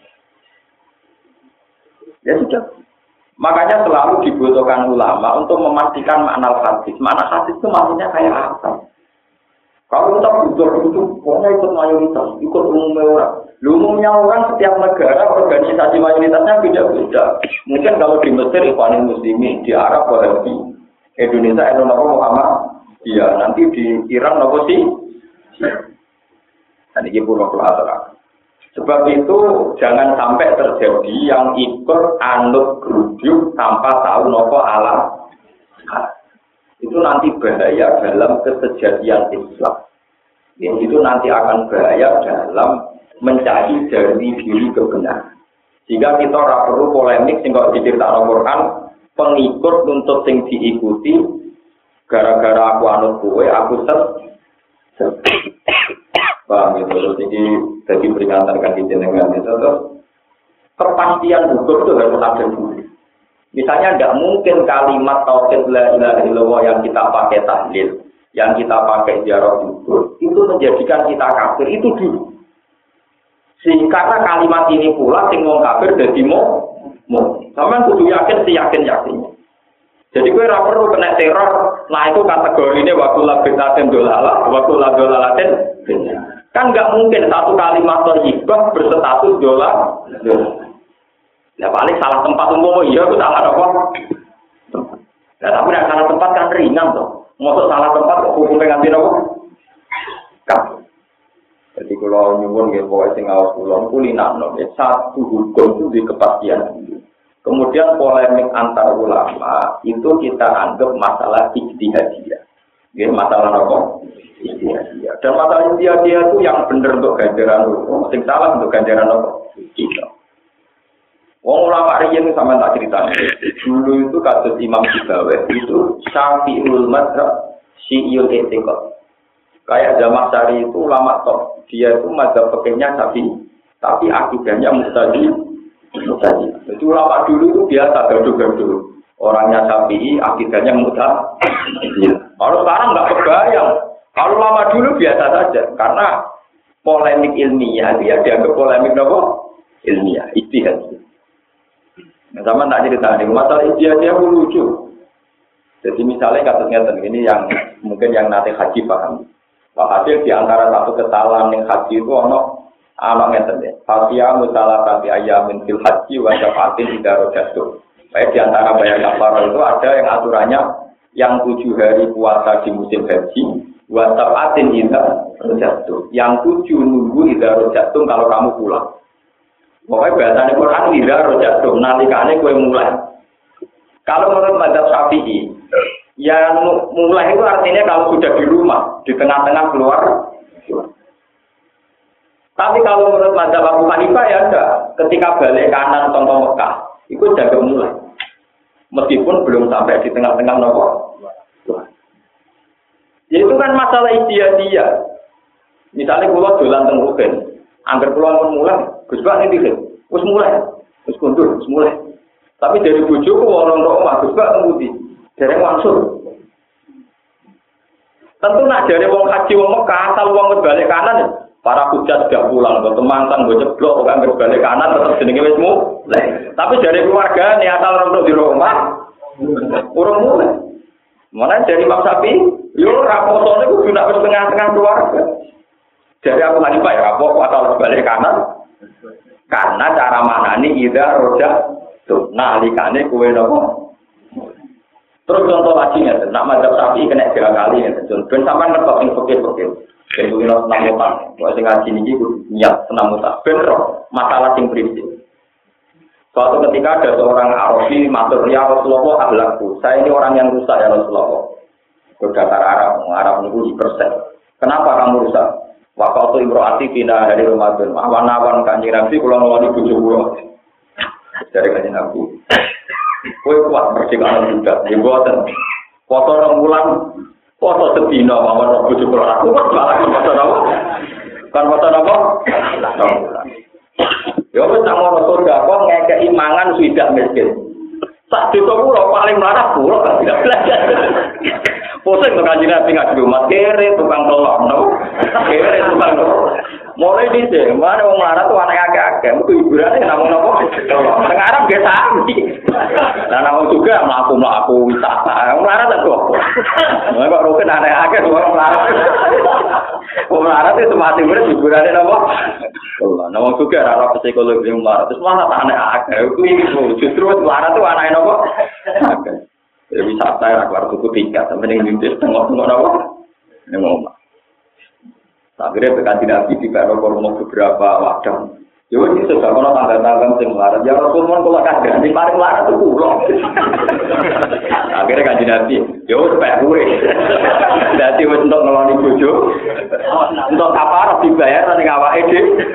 Ya sudah. Makanya selalu dibutuhkan ulama untuk memastikan makna hadis. Makna hadis itu maksudnya kayak apa? Kalau kita butuh itu, pokoknya ikut mayoritas, ikut umumnya orang. Umumnya orang setiap negara, organisasi mayoritasnya beda-beda. Mungkin kalau di Mesir, Ikhwanul Muslimin, di Arab, Wahabi, Indonesia, Indonesia, Muhammad, iya, nanti di Iran, apa sih? Dan ini pulau kelas. Sebab itu, jangan sampai terjadi yang ikut anut geruduk tanpa tahu nopo alam. Itu nanti bahaya dalam kesejatian Islam. Yang itu nanti akan bahaya dalam mencari dari diri kebenaran. Sehingga kita ora perlu polemik sing kok diceritakan Al-Qur'an, pengikut nuntut sing diikuti gara-gara aku anut kowe, aku set. Paham itu, jadi jadi peringatan kan jenengan itu terus kepastian hukum itu harus ada dulu. Misalnya tidak mungkin kalimat tauhid la ilaha illallah yang kita pakai tahlil, yang kita pakai ziarah kubur, itu menjadikan kita kafir itu dulu. Sehingga karena kalimat ini pula sing wong kafir dadi mo, mo. Sampeyan kudu yakin si yakin-yakinnya. Jadi kowe ora perlu kena teror, nah itu kategorine waktu labitaten dolalah, waktu ladolalaten. Kan enggak mungkin satu kalimat thayyibah berstatus dolar. Ya paling salah tempat umum, iya aku salah apa? Nah, tapi nek salah tempat kan ringan toh. Mosok salah tempat kok hukumnya nganti nopo? Kafir. Jadi kalau nyuwun nggih pokoke sing ngaos kula kulinakno satu hukum itu di kepastian. Kemudian polemik antar ulama itu kita anggap masalah ijtihadiyah. Nggih, masalah apa? Ijtihadiyah. Dan masalah ijtihadiyah itu yang benar untuk ganjaran hukum, sing salah untuk ganjaran apa? Kita. Wong ulama riyen sampean tak critani. Dulu itu kasus Imam Sibawi itu Syafi'ul Madzhab, Syi'ul I'tiqad. Kayak Jamak Sari itu ulama top, dia itu mazhab fikihnya Syafi'i, tapi akidahnya Mu'tazili. Mu'tazili. Jadi ulama dulu itu biasa gaduh-gaduh. Orangnya Syafi'i, akidahnya Mu'tazili. Kalau sekarang nggak kebayang. Kalau ulama dulu biasa saja, karena polemik ilmiah dia dianggap polemik apa? Ilmiah, ijtihad. Nah, sama tak cerita nih, masalah ijtihad dia lucu. Jadi misalnya kasusnya ini yang mungkin yang nanti haji paham. Hasil di antara satu kesalahan yang haji itu ono anak ngeten ya. Fatia musalah kami ayamin fil haji wa syafatin idaro jatuh. Baik di antara bayar kafar itu ada yang aturannya yang tujuh hari puasa di musim haji wa syafatin idaro jatuh. Yang tujuh nunggu idaro jatuh kalau kamu pulang. Pokoknya bahasanya Quran idaro jatuh. Nalikane kue mulai. Kalau menurut mazhab Syafi'i, ya mulai itu artinya kalau sudah di rumah, di tengah-tengah keluar. Tapi kalau menurut mazhab Abu Hanifah ya enggak. Ketika balik kanan contoh Mekah, itu jaga mulai. Meskipun belum sampai di tengah-tengah nomor. Ya itu kan masalah ijtihadiyah. Misalnya kula dolan teng Rukin, angger kula pun mulai, Gus Pak niki wis mulai, wis kundur, wis mulai. Tapi dari bojoku orang omah Gus Pak ngendi? Dereng langsung. Tentu nak jare wong haji wong Mekah asal wong balik kanan ya. Para hujat sudah pulang, kok temangsan gue ceblok kok angger balik kanan tetep jenenge wis mulai. Tapi dari keluarga nih asal orang di rumah urung mulai. Mana dari Imam Syafi'i, yo raposone kudu nak wis tengah-tengah keluarga. Jadi aku lagi Pak ya rapok asal balik kanan. Karena cara manani ida roja tuh nalikane kowe napa. Terus contoh lagi ya, nak mazhab Syafi'i kena tiga kali ya. Ben sampean ngertos sing fikih-fikih. Ben kuwi ora senam utang. Kok sing ngaji niki kudu niat senam utang. Ben masalah sing prinsip. Suatu ketika ada seorang Arabi matur, "Ya Rasulullah, akhlakku. Saya ini orang yang rusak ya Rasulullah." Berdasar Arab, Arab niku dipersen. Kenapa kamu rusak? Waktu imro'ati bina dari Ramadan. Awan-awan Kanjeng Nabi kula ngeloni bojo kula. Dari Kanjeng Nabi. Kowe kuat merdeka budak, ya boten. Foto rong wulan, foto sedina mawon bojo kula. Aku kok malah foto napa? Kan foto napa? rong wulan. Ya wis nang ngono surga kok ngekeki mangan swidak miskin. Sak desa kula paling mlarat kula kan tidak belajar. Pusing to Kanjeng Nabi ngaji rumah kere tukang tolong no. Kere tukang tolong. Mulai dhisik, mana wong mlarat tuh anak akeh-akeh, metu hiburane namung napa? Tolong. Teng Arab ge sami. Lah namung juga mlaku-mlaku wisata. Wong mlarat tak kok. Nah kok rugen anak akeh wong mlarat. Wong mlarat itu mati urip hiburane napa? Allah, namung juga ora psikologi wong mlarat. Terus malah anak akeh. Kuwi justru mlarat tuh anake napa? Akeh. Ya wisata ya keluar tuku tiket, sampai yang lintas tengok-tengok apa? Ini ngomong. Akhirnya berganti Nabi di Karo-Karo beberapa wadah. Ya ini sudah kalau tanggal-tanggal yang melarat, ya Rasulullah kalau kagak, di paling melarat itu pulang. Akhirnya ganti Nabi, ya supaya gue. Jadi untuk ngeloni bojo, untuk kapar dibayar nanti ngawak ide.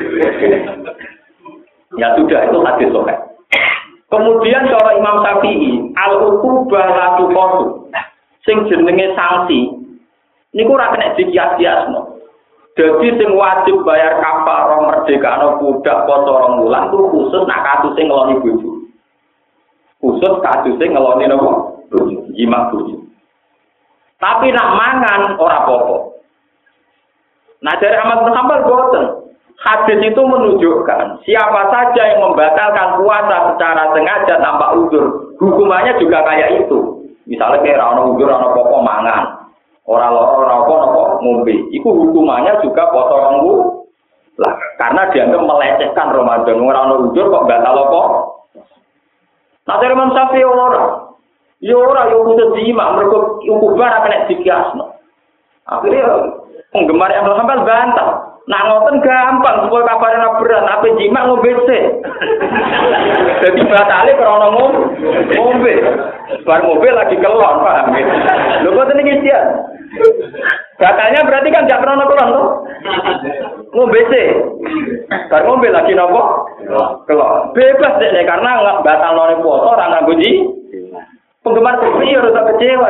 Ya sudah, itu hadis sokai. Kemudian cara Imam Syafi'i, al-uqubah la tuqatu. Sing jenenge sanksi niku ora kena dikias-kiasno. Dadi sing wajib bayar kafarah merdekano budak poso rong wulan ku khusus nak kasus sing ngeloni bojo. Khusus kasus sing ngeloni napa? Bojo, jimat bojo. Tapi nak mangan ora apa-apa. Nah dari Ahmad bin Hanbal boten. Hadis itu menunjukkan siapa saja yang membatalkan puasa secara sengaja tanpa uzur, hukumannya juga kayak itu. Misalnya kayak orang uzur, orang pokok mangan, orang loro, orang pokok ngombe, itu hukumannya juga poso ronggu. Lah, karena dianggap melecehkan Ramadan, orang uzur kok batal apa? Nah dari Imam Syafi'i orang, Yo ora yo kudu jima mergo ukubar kena dikiasno. Akhirnya penggemar yang Hambal bantah. Nak ngoten gampang supaya kabarnya berat, apa jima ngombe sih. Jadi batale krana ngombe. Bar ngombe lagi kelon, paham ya? Lho kok niki dia. Batalnya berarti kan gak krana kelon to? Ngombe sih. Bar ngombe lagi napa? Kelon. Bebas deh karena enggak batal none puasa ora nganggo ji. Penggemar sepi ora tak kecewa.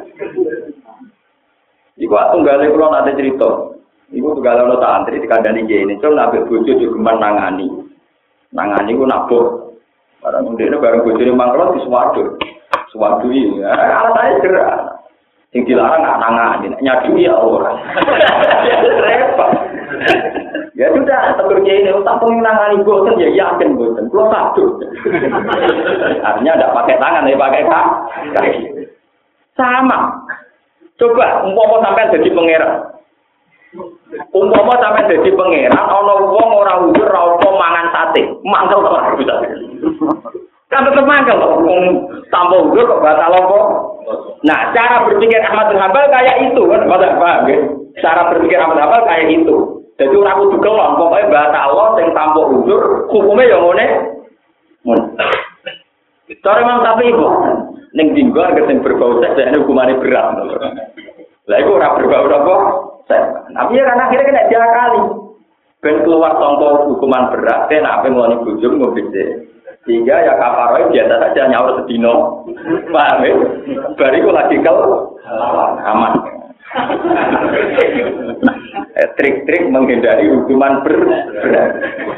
Iku tunggale kula nate cerita. Iku tunggal ana santri dikandani kiye ini, cuma nabek bojo juga nangani. Nangani ku nabuk. Barang ndekne bareng bojone mangklo disuwadu. Suwadu iki alasane gerak. Sing dilarang gak nangani, nyadui ya ora. Repot. Ya sudah, tegur kiye ini tak pengen nangani boten ya yakin boten. Kulo sadu. Artinya ndak pakai tangan ya pakai kaki. Sama. Coba umpama sampean jadi pangeran. Umpama sampe dadi pangeran ana wong ora udur ora apa mangan sate, mangkel ora bisa. Kan tetep mangkel wong tanpa udur kok batal apa? Nah, cara berpikir Ahmad bin Hambal kayak itu kan, paham ya? Cara berpikir Ahmad bin Hambal kayak itu. Jadi ora kudu kelon, pokoke batal sing tanpa udur, hukume ya ngene. Mun. Cara Imam Syafi'i kok ning dinggo sing berbau seks dene hukumane berat. Lah iku ora berbau apa? Tapi ya karena akhirnya kena diakali. Ben keluar contoh hukuman berat, kan apa ngoni bujum ngobise. Sehingga ya kafaroh biasa saja nyaur sedino. Paham ya? Bariku lagi kalau aman. Trik-trik menghindari hukuman berat.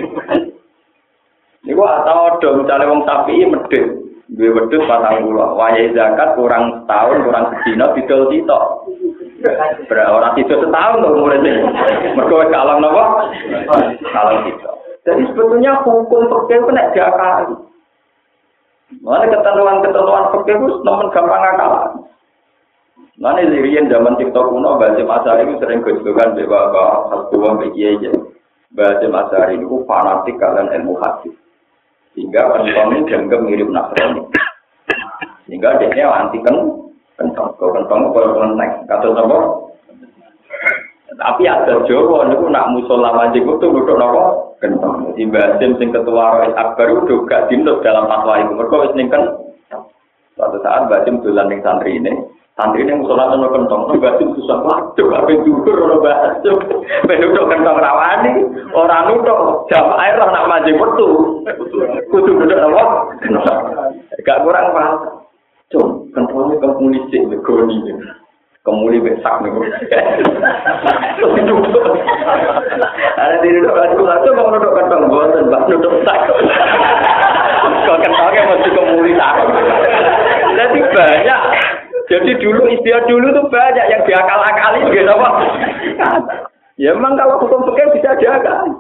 Ini gua atau dong misalnya wong sapi medhit. Duwe wedhus patang puluh. Wayahe zakat kurang setahun, kurang sedino didol sitok. Berarti orang itu setahun tuh umurnya. Mereka kalah nopo, kalah itu. Jadi sebetulnya hukum fikih itu tidak diakali. Mana ketentuan-ketentuan fikih itu nomor gampang akalan. Mana dirian zaman TikTok kuno bahasa Masari itu sering gosipkan bahwa satu begitu aja. Bahasa Masari itu fanatik kalian ilmu hadis. Sehingga orang-orang dianggap mirip Nasrani. Sehingga dia anti kan. Kentong, kau kentong, kau kenteng, kata apa? Tapi ada Jawa, itu nak musola majik itu duduk apa? Kentong. Di Basim sing ketua Rois Akbar itu gak dinut dalam fatwa itu. Mereka wis ning kan. Suatu saat Basim dolan ning santri ini, santri ini musola ono kentong, di Basim susah waduh, apa dudur ono Basim. Ben duduk kentong rawani, ora nutuk jamaah air nak majik metu. Kudu duduk apa? Gak kurang paham. Cung, kentongnya kemuli sih, begoni. Kemuli besak nih. Ada di duduk aku satu mau duduk kentong bosan, bak duduk sak. Kau kentongnya masih kemuli sak. Jadi banyak. Jadi dulu istilah dulu tuh banyak yang diakal-akali gitu apa? Ya memang kalau hukum fikih bisa diakal.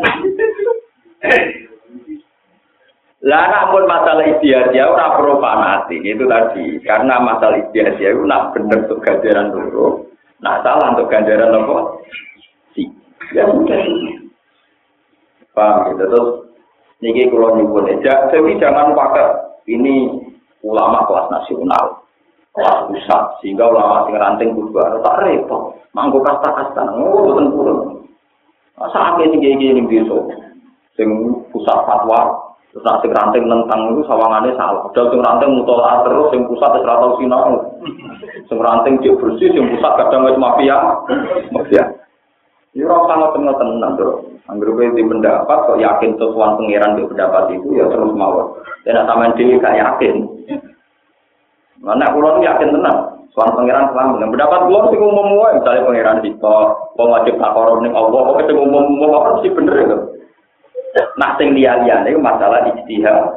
Lah namun masalah istiadah ora perlu fanatik itu tadi karena masalah istiadah itu nak bener untuk ganjaran dulu, nak salah untuk ganjaran apa? Si. Ya sudah. Paham gitu terus niki kula nyuwun aja, tapi jangan pakai ini ulama kelas nasional, kelas pusat sehingga ulama sing ranting kudu ada tak repot, manggo kasta-kasta ngono boten purun. Asa akeh sing iki ning desa sing pusat fatwa terus nanti ranting tentang itu sawangannya salah. Padahal sing ranting mutolak terus, sing pusat terus ratau sinau. Sing ranting dia bersih, sing pusat kadang wis mafia. Mafia. Ini orang sangat tenang-tenang bro. Anggur di pendapat, kok yakin sesuatu pengiran di pendapat itu ya terus mawar. Dan sama dia gak yakin. Mana pulau yakin tenang. Soal pengiran selama dengan pendapat pulau sih umum umum. Misalnya pengiran di kok, kok wajib takorom nih Allah, kok itu umum umum apa sih bener itu. Nah, sing liya-liyane itu masalah ijtihad.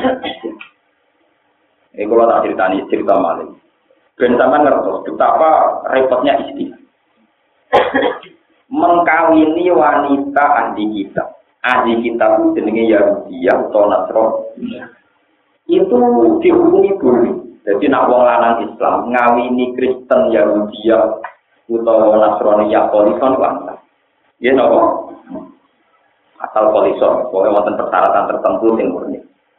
Ini kalau tak ceritani cerita malih. Ben sampean ngertos betapa repotnya ijtihad. Mengkawini wanita ahli kitab. Ahli kitab itu jenenge Yahudiyah atau Nasrani. Itu dihukumi boleh. Jadi nak wong lanang Islam ngawini Kristen Yahudiyah utawa Nasrani ya polison kan. Ya napa? Asal polison, pokoknya wonten persyaratan tertentu sing murni.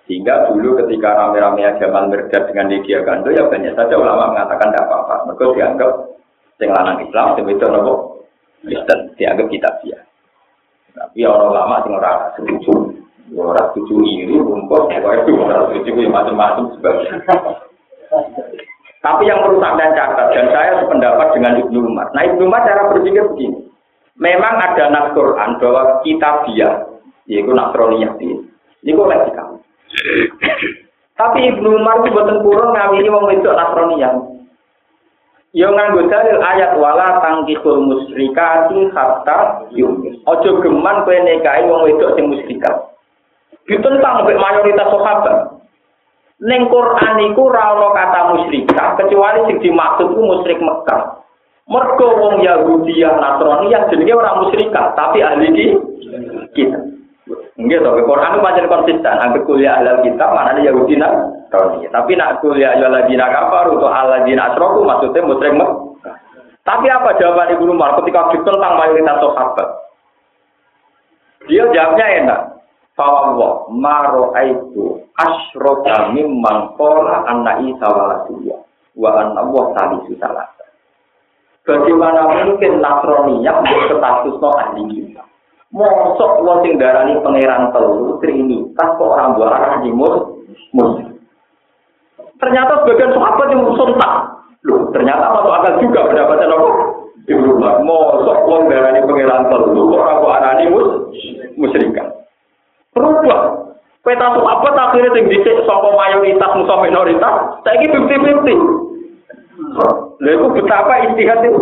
Sehingga dulu ketika rame-rame Jamal Mirdad dengan Lydia Gando, ya banyak saja ulama mengatakan tidak apa-apa. Mereka dianggap sing lanang Islam, sing wedok nopo Kristen, dianggap kitabiah. Tapi orang ulama sing ora setuju, ora setuju iri, rumput, pokoknya itu ora setuju macam-macam sebagainya. Tapi yang perlu Anda catat, dan saya sependapat dengan Ibnu Umar. Nah, Ibnu Umar cara berpikir begini. Memang ada nas Quran bahwa kitabiah, yaitu Nasroniyah ini. Ini koleksi kamu. Tapi Ibnu Umar itu boten purun ngawini wong wedok Nasroniyah. Yo nganggo dalil ayat wala tangkihul musyrikati hatta yu'min. Aja geman kowe nikahi wong wedok sing musyrikat. Ditentang oleh mayoritas sahabat. Ning Quran iku ora ana kata musyrikah kecuali sing dimaksud ku musyrik Mekah. Mergo wong Yahudi lan Nasrani yang jenenge ora musyrikah, tapi ahli kita. Nggih to, Quran itu pancen konsisten. Angger kuliah ahli kitab maknane Yahudi lan Nasrani. Tapi nak kuliah ya ladina kafar atau alladzina asyraku maksudnya musyrik Mekah. Tapi apa jawaban Ibnu Umar ketika ditentang mayoritas sahabat? Dia jawabnya enak. Fawwah maro'aitu asyraka mimman qala anna Isa waladullah wa anna Allah salisu salasa. Bagaimana mungkin Nasroniyah berstatusno ahli kita? Mosok wong sing darani pangeran telu trinitas kok ora mbok arani muslim. Ternyata sebagian sahabat yang sontak. Loh, ternyata masuk akal juga pendapatnya apa? Ibnu Umar. Mosok wong darani pangeran telu kok ora mbok arani musyrikan. Berubah. Peta sahabat akhirnya sing dhisik saka mayoritas musuh minoritas, saiki fifty fifty. Lha iku betapa istihad itu.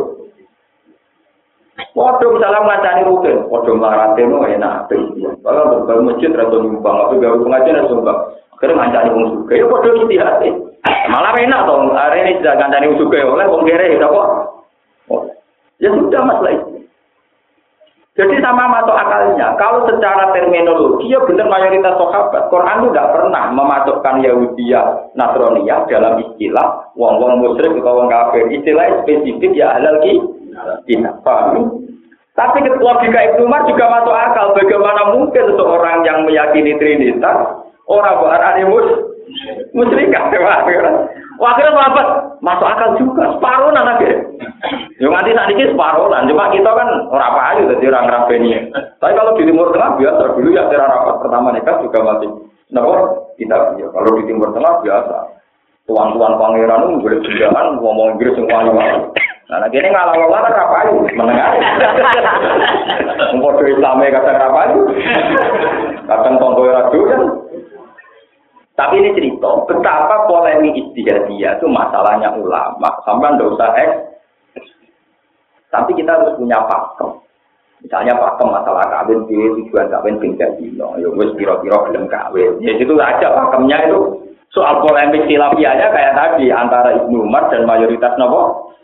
Waduh misalnya ngancani rutin, waduh marate no enak. Kalau berbagai masjid atau nyumbang, atau gawe pengajian atau nyumbang, akhirnya ngancani wong sugih. Ya waduh istihad. Malah enak dong. Hari ini sudah ngancani wong sugih oleh wong kere ya kok. Ya sudah masalah itu. Jadi sama masuk akalnya, kalau secara terminologi ya benar mayoritas sahabat. Quran itu tidak pernah memasukkan Yahudiyah, Nasroniyah dalam istilah wong-wong musyrik atau wong kafir. Istilah spesifik ya halal kita. Paham? Tapi logika Ibnu Umar juga masuk akal. Bagaimana mungkin seseorang yang meyakini Trinitas orang berani musyrikat? Wah, akhirnya sahabat masuk akal juga. Separuh anaknya. Yang nanti saat ini separuh lah. Cuma kita kan orang payu jadi orang Rabeni. Tapi kalau di Timur Tengah biasa dulu ya secara rapat pertama nikah juga masih. Nah, kita ya. Kalau di Timur Tengah biasa. Tuan-tuan pangeran itu boleh berjalan ngomong Inggris semua orang. Nah, ini ngalah-ngalah kan rapayu menengah. Mengkodoh Islamnya kadang rapayu. Kadang tonggo radu kan. Tapi ini cerita betapa polemik ijtihadiyah itu masalahnya ulama. Sampai tidak usah eks. Tapi kita harus punya pakem. Misalnya pakem masalah kawin, tujuan kawin tinggal dino. Ya wis kira-kira belum kawin. Ya itu aja pakemnya itu. Soal polemik khilafiyahnya kayak tadi antara Ibnu Umar dan mayoritas nopo.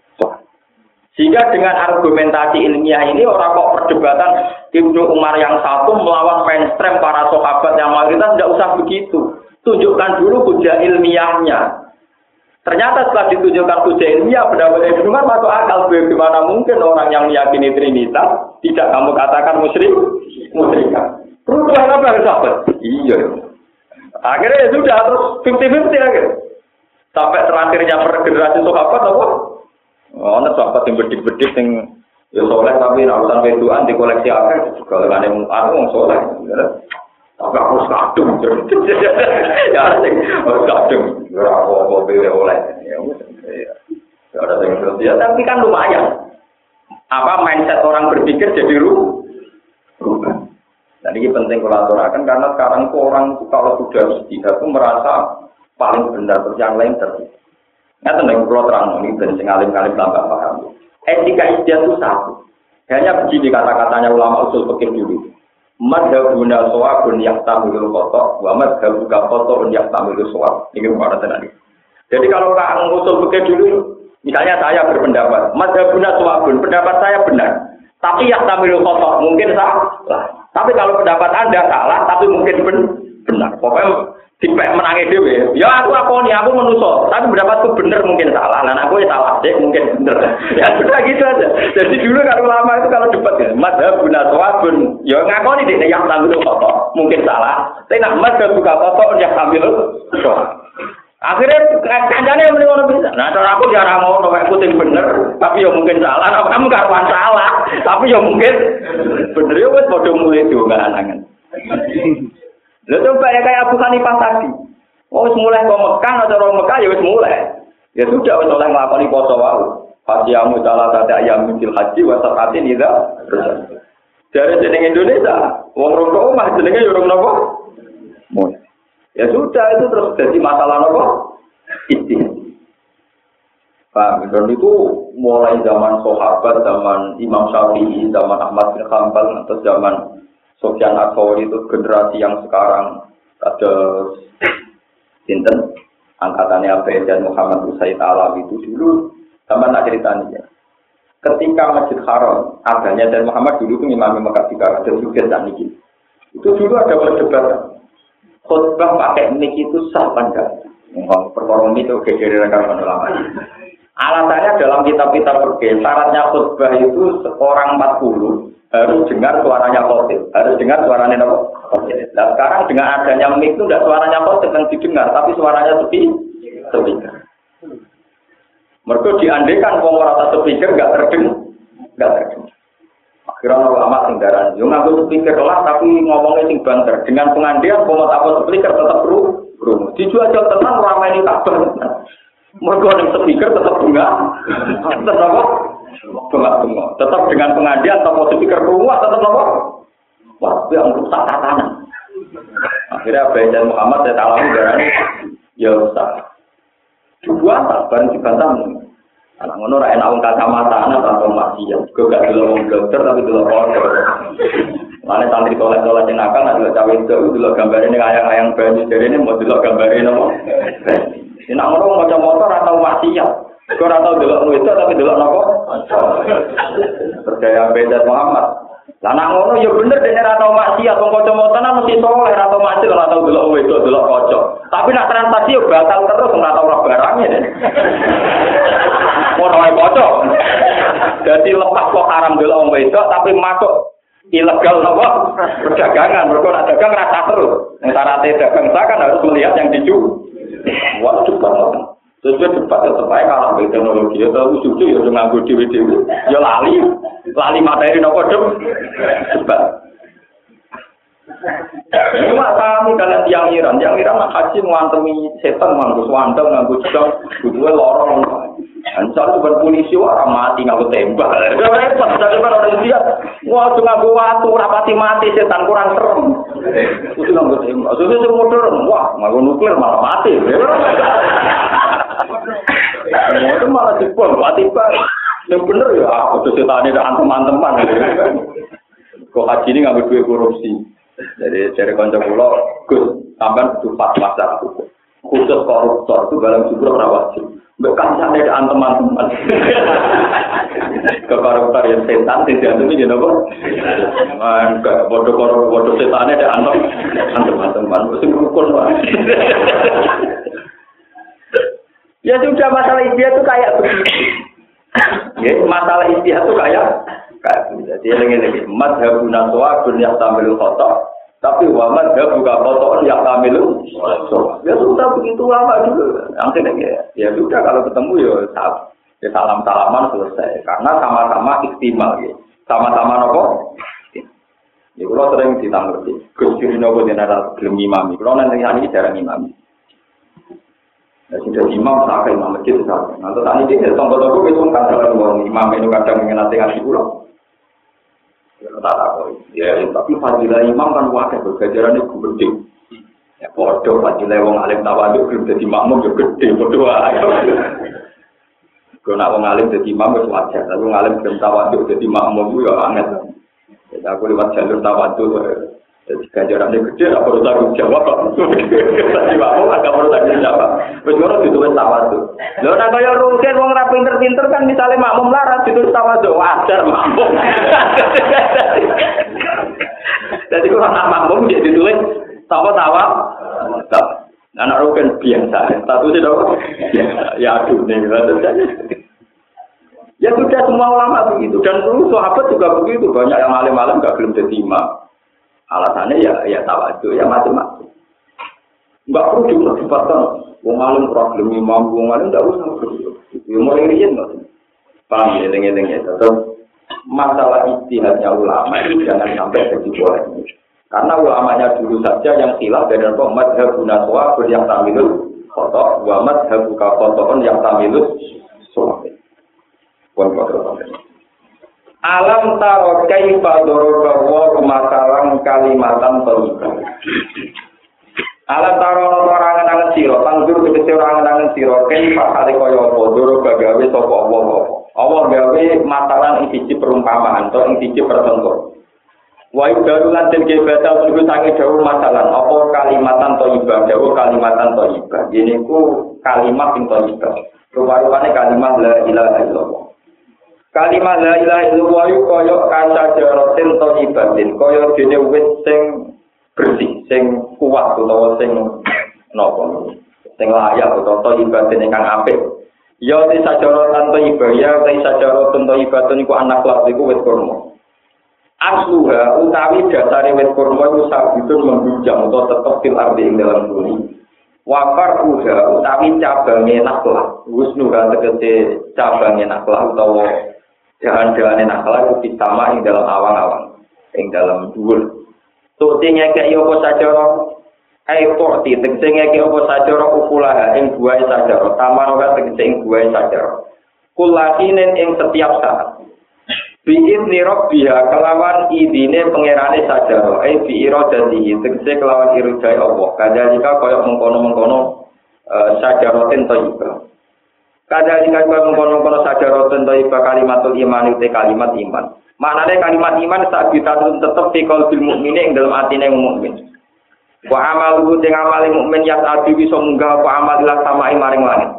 Sehingga dengan argumentasi ilmiah ini orang kok perdebatan Ibnu Umar yang satu melawan mainstream para sahabat yang mayoritas tidak usah begitu. Tunjukkan dulu hujah ilmiahnya. Ternyata setelah ditunjukkan hujah ilmiah, pendapat Ibnu Umar masuk akal. Bagaimana mungkin orang yang meyakini Trinitas tidak kamu katakan musyrik? Musyrikan. Terus apa yang sahabat? Iya. Akhirnya ya sudah terus fifty fifty akhirnya. Sampai terakhirnya per generasi sahabat apa? Oh, ada sahabat yang bedik-bedik yang ya soleh tapi urusan wedoan di koleksi akhir juga dengan yang aku soleh. Tapi aku harus kadung. Ya harus kadung. Ya apa-apa pilih oleh. Ya ada yang berarti ya tapi kan lumayan. Apa mindset orang berpikir jadi rubah. Jadi ini penting kolaborasikan karena sekarang tuh orang itu kalau sudah istihad itu merasa paling benar terus yang lain terus. Nggak tenang kalau terang ini dan sengalim-kalim tambah paham. Etika istihad itu satu. Hanya begini kata-katanya ulama usul fikih dulu. Madhabuna shawabun yahtamilul khata' wa madhabuka khata'un yahtamilul shawab. Ini mana tadi. Jadi kalau orang usul fikih dulu, misalnya saya berpendapat, madhabuna shawabun, pendapat saya benar. Tapi yahtamilul khata' mungkin salah. Tapi kalau pendapat Anda salah, tapi mungkin benar. Pokoknya dipek menangi dhewe. Ya aku akoni, aku menuso. Tapi pendapatku benar mungkin salah. Nah aku ya salah sih, mungkin benar. Ya sudah gitu aja. Jadi dulu kalau lama itu kalau debat ya, madhabun aswabun. Ya ngakoni dek yang tampil kotor, mungkin salah. Tapi nak mas buka kotor yang tampil kotor. Akhirnya kancane yang mending bisa. Nah, cara aku jarang ngono, kayak puting bener, tapi ya mungkin salah. Nah, kamu karuan salah, tapi ya mungkin bener ya wes bodoh mulai juga anangan. Lalu coba ya kayak Abu Hanifah tadi. Oh, wes mulai kok Mekah atau orang Mekah ya wes mulai. Ya sudah wes oleh nglakoni poso wae. Fasiyamu salah satu ayam fil haji wa saqatin idza. Dari jeneng Indonesia, wong rokok omah jenenge yo rong napa? Mulai. Ya sudah itu terus jadi masalah apa? Istihad. Paham? Dan itu mulai zaman sahabat, zaman Imam Syafi'i, zaman Ahmad bin Hanbal, atau zaman Sufyan Ats-Tsauri itu generasi yang sekarang ada sinten angkatannya Abu dan Muhammad Usaid Alawi itu dulu zaman nak ceritanya. Ketika Masjid Haram adanya dan Muhammad dulu itu Imam Mekah Tikar dan juga dan niki. Itu dulu ada perdebatan. Khutbah pakai mic itu sah apa enggak? Ngomong perkara itu gegere rekaman ulama. Alasannya dalam kitab-kitab fikih, syaratnya khutbah itu seorang empat puluh harus dengar suaranya khotib, harus dengar suaranya apa? Khotib. Nah, sekarang dengan adanya mic itu tidak suaranya khotib yang didengar, tapi suaranya sepi, sepi. Mereka diandekan wong ora tak speaker enggak terdengar, enggak terdengar. Akhirnya ulama sing daran, yo nganggo speaker lah tapi ngomongnya sing banter. Dengan pengandian komat apa speaker tetap ru, ru. Dijual-jual tenang ramai ini kabar. Mergo ning speaker tetap bunga. Tetap apa? Bunga-bunga. Tetap dengan pengandian atau speaker rumah tetap apa? Wah, yang rusak tatanan. Akhirnya Abu dan Muhammad saya alami daran ya usah. Dua tak bareng dibantah. Anak ngono ra enak wong kacamata anak atau maksiat. Kok gak delok wong dokter tapi delok foto. Mane santri tolak-tolak jenaka nek delok cawe itu delok gambare ning ayang-ayang banyu jarene mau delok gambare napa. Nek ngono maca motor atau maksiat. Kok ora tau delok wedok tapi delok napa? Percaya beda Muhammad. Lah nek ngono ya bener dene ora tau maksiat wong kanca motoran mesti soleh ora tau maksiat ora tau delok wedok delok kanca. Tapi nek transaksi yo batal terus ora tau ora barangnya. Ono ae kocok. Dadi lepas kok haram delok wong wedok tapi masuk ilegal napa? Perdagangan. Mergo nek dagang rasa terus. Nek syaratnya dagang kan harus melihat yang dijual. Wah, cepat. Terus cepat tetep ae kalah be teknologi. Ya tahu susu ya nganggo dhewe-dhewe. Ya lali. Lali materi napa dem. Cepat. Cuma kami kalian tiang Iran, tiang Iran nak haji ngantemi setan nganggo swandang nganggo jam, butuhe lorong. Ansar bukan polisi orang mati nganggo tembak. Repot daripada orang dia. Wah, cuma nganggo watu ora pati mati setan kurang serem. Kudu nganggo tembak. Susu sing modern, wah, nganggo nuklir malah mati. Itu malah dipol, mati pak. Yang bener ya, aku tuh setane dak teman-teman. Kok haji ini nganggo duit korupsi. Jadi dari kanca kula Gus sampean kudu fatwa hukum. Khusus koruptor itu dalam jumlah rawat. Mbok kancane dak teman-teman. Koruptor yang setan tidak itu jadi apa? Enggak bodoh-bodoh bodoh setane dak antem teman-teman. Sing rukun wae. Ya sudah masalah istihad itu kayak begitu. Ya, masalah istihad itu kayak kayak jadi lagi-lagi madhabuna suwabun yang tamilul khotok tapi wa madhabuka khotokan yang tamilul ya sudah begitu lama dulu akhirnya ya, ya sudah kalau ketemu ya, ya salam-salaman selesai karena sama-sama istimal ya. Sama-sama nopo ya kalau sering ditanggerti Gus Ciri nopo jenara gelem imami kalau nanti ini jarang imami ya sudah imam sampai imam masjid sampai nanti tadi dia tombol-tombol itu kan kalau imam itu kadang mengenai ngasih pulau ya tak tahu ya tapi fadilah imam kan wadah bergajaran itu gede ya bodoh fadilah wong alim tawaduk belum jadi makmum juga gede bodoh aja kalau nak wong alim jadi imam itu wajar tapi wong alim belum tawaduk jadi makmum itu ya anget jadi aku lewat jalur tawaduk jadi gajarannya gede tak perlu tanggung jawab jadi makmum agak perlu tanggung jawab berjuang ditulis tawaduk lho nek kaya rugen wong ra pinter-pinter kan misale makmum larat ditulis tawaduk wajar makmum jadi kalau anak makmum dia ditulis tawa-tawa anak rugen biasa statusnya dong ya aduh nih ya sudah semua ulama begitu dan dulu sahabat juga begitu banyak yang alim-alim gak belum jadi imam Alasannya ya ya tawadhu ya macam-macam. Enggak perlu diperdebatkan. Wong alim problem imam, wong alim ndak usah perlu. Ya mulai riyen kok. Paham ya eling-eling ya. Tetap masalah ijtihadnya ulama itu jangan sampai jadi polemik. Karena ulamanya dulu saja yang khilaf dari madhab Naswa yang tamilul khotok, wa madhab khotoon yang tamilul sholat. Alam taro kaifa daraba wa masalan kalimatan thayyibah. Alam taro orang angen sira, tandur tegese orang angen sira, kaifa kale kaya apa daraba gawe sapa apa-apa. Allah gawe masalan ing siji perumpamaan atau ing siji percontohan. Wa yudarulan den gebata sing sange dawuh masalan apa kalimatan thayyibah, dawuh kalimatan thayyibah. Yen iku kalimat sing thayyibah. Rupa-rupane kalimat la ilaha illallah. Kalimat la ilaha illallah kaya kasajaratin thayyibatin, kaya dene wit sing bersih, sing kuat utawa sing napa, sing layak utawa thayyibatin ingkang apik. Ya te sajaratan thayyibah, ya te sajaratun thayyibatun iku anak lak iku wit kurma. Asluha utawi dasare wit kurma iku sabitun membujang utawa tetep fil ardi ing dalam bumi. Wafar uha utawi cabange naklah, husnuha tegese cabange naklah utawa jalan-jalan naklah itu ditama ing dalam awang-awang, ing dalam dhuwur. Tuti ngekeki apa sajara ai porti tegese ngekeki apa sajara ukulaha ing buahe sajara, tamara tegese ing buahe sajara. Kulakinen ing setiap saat. Bi'id nirok biha kelawan idine pengerane sajaro eh bi'iro dan dihi tegese kelawan irudai Allah kadalika kaya mengkono-mengkono uh, sajarotin toiba kadalika kaya mengkono-mengkono sajarotin toiba kalimatul iman itu kalimat iman maknanya kalimat iman saat kita tetap fikol bil mukmini ing dalam atine mukmin wa amalu ting amali mukmin yas adi bisa munggah wa amalilah samai maring langit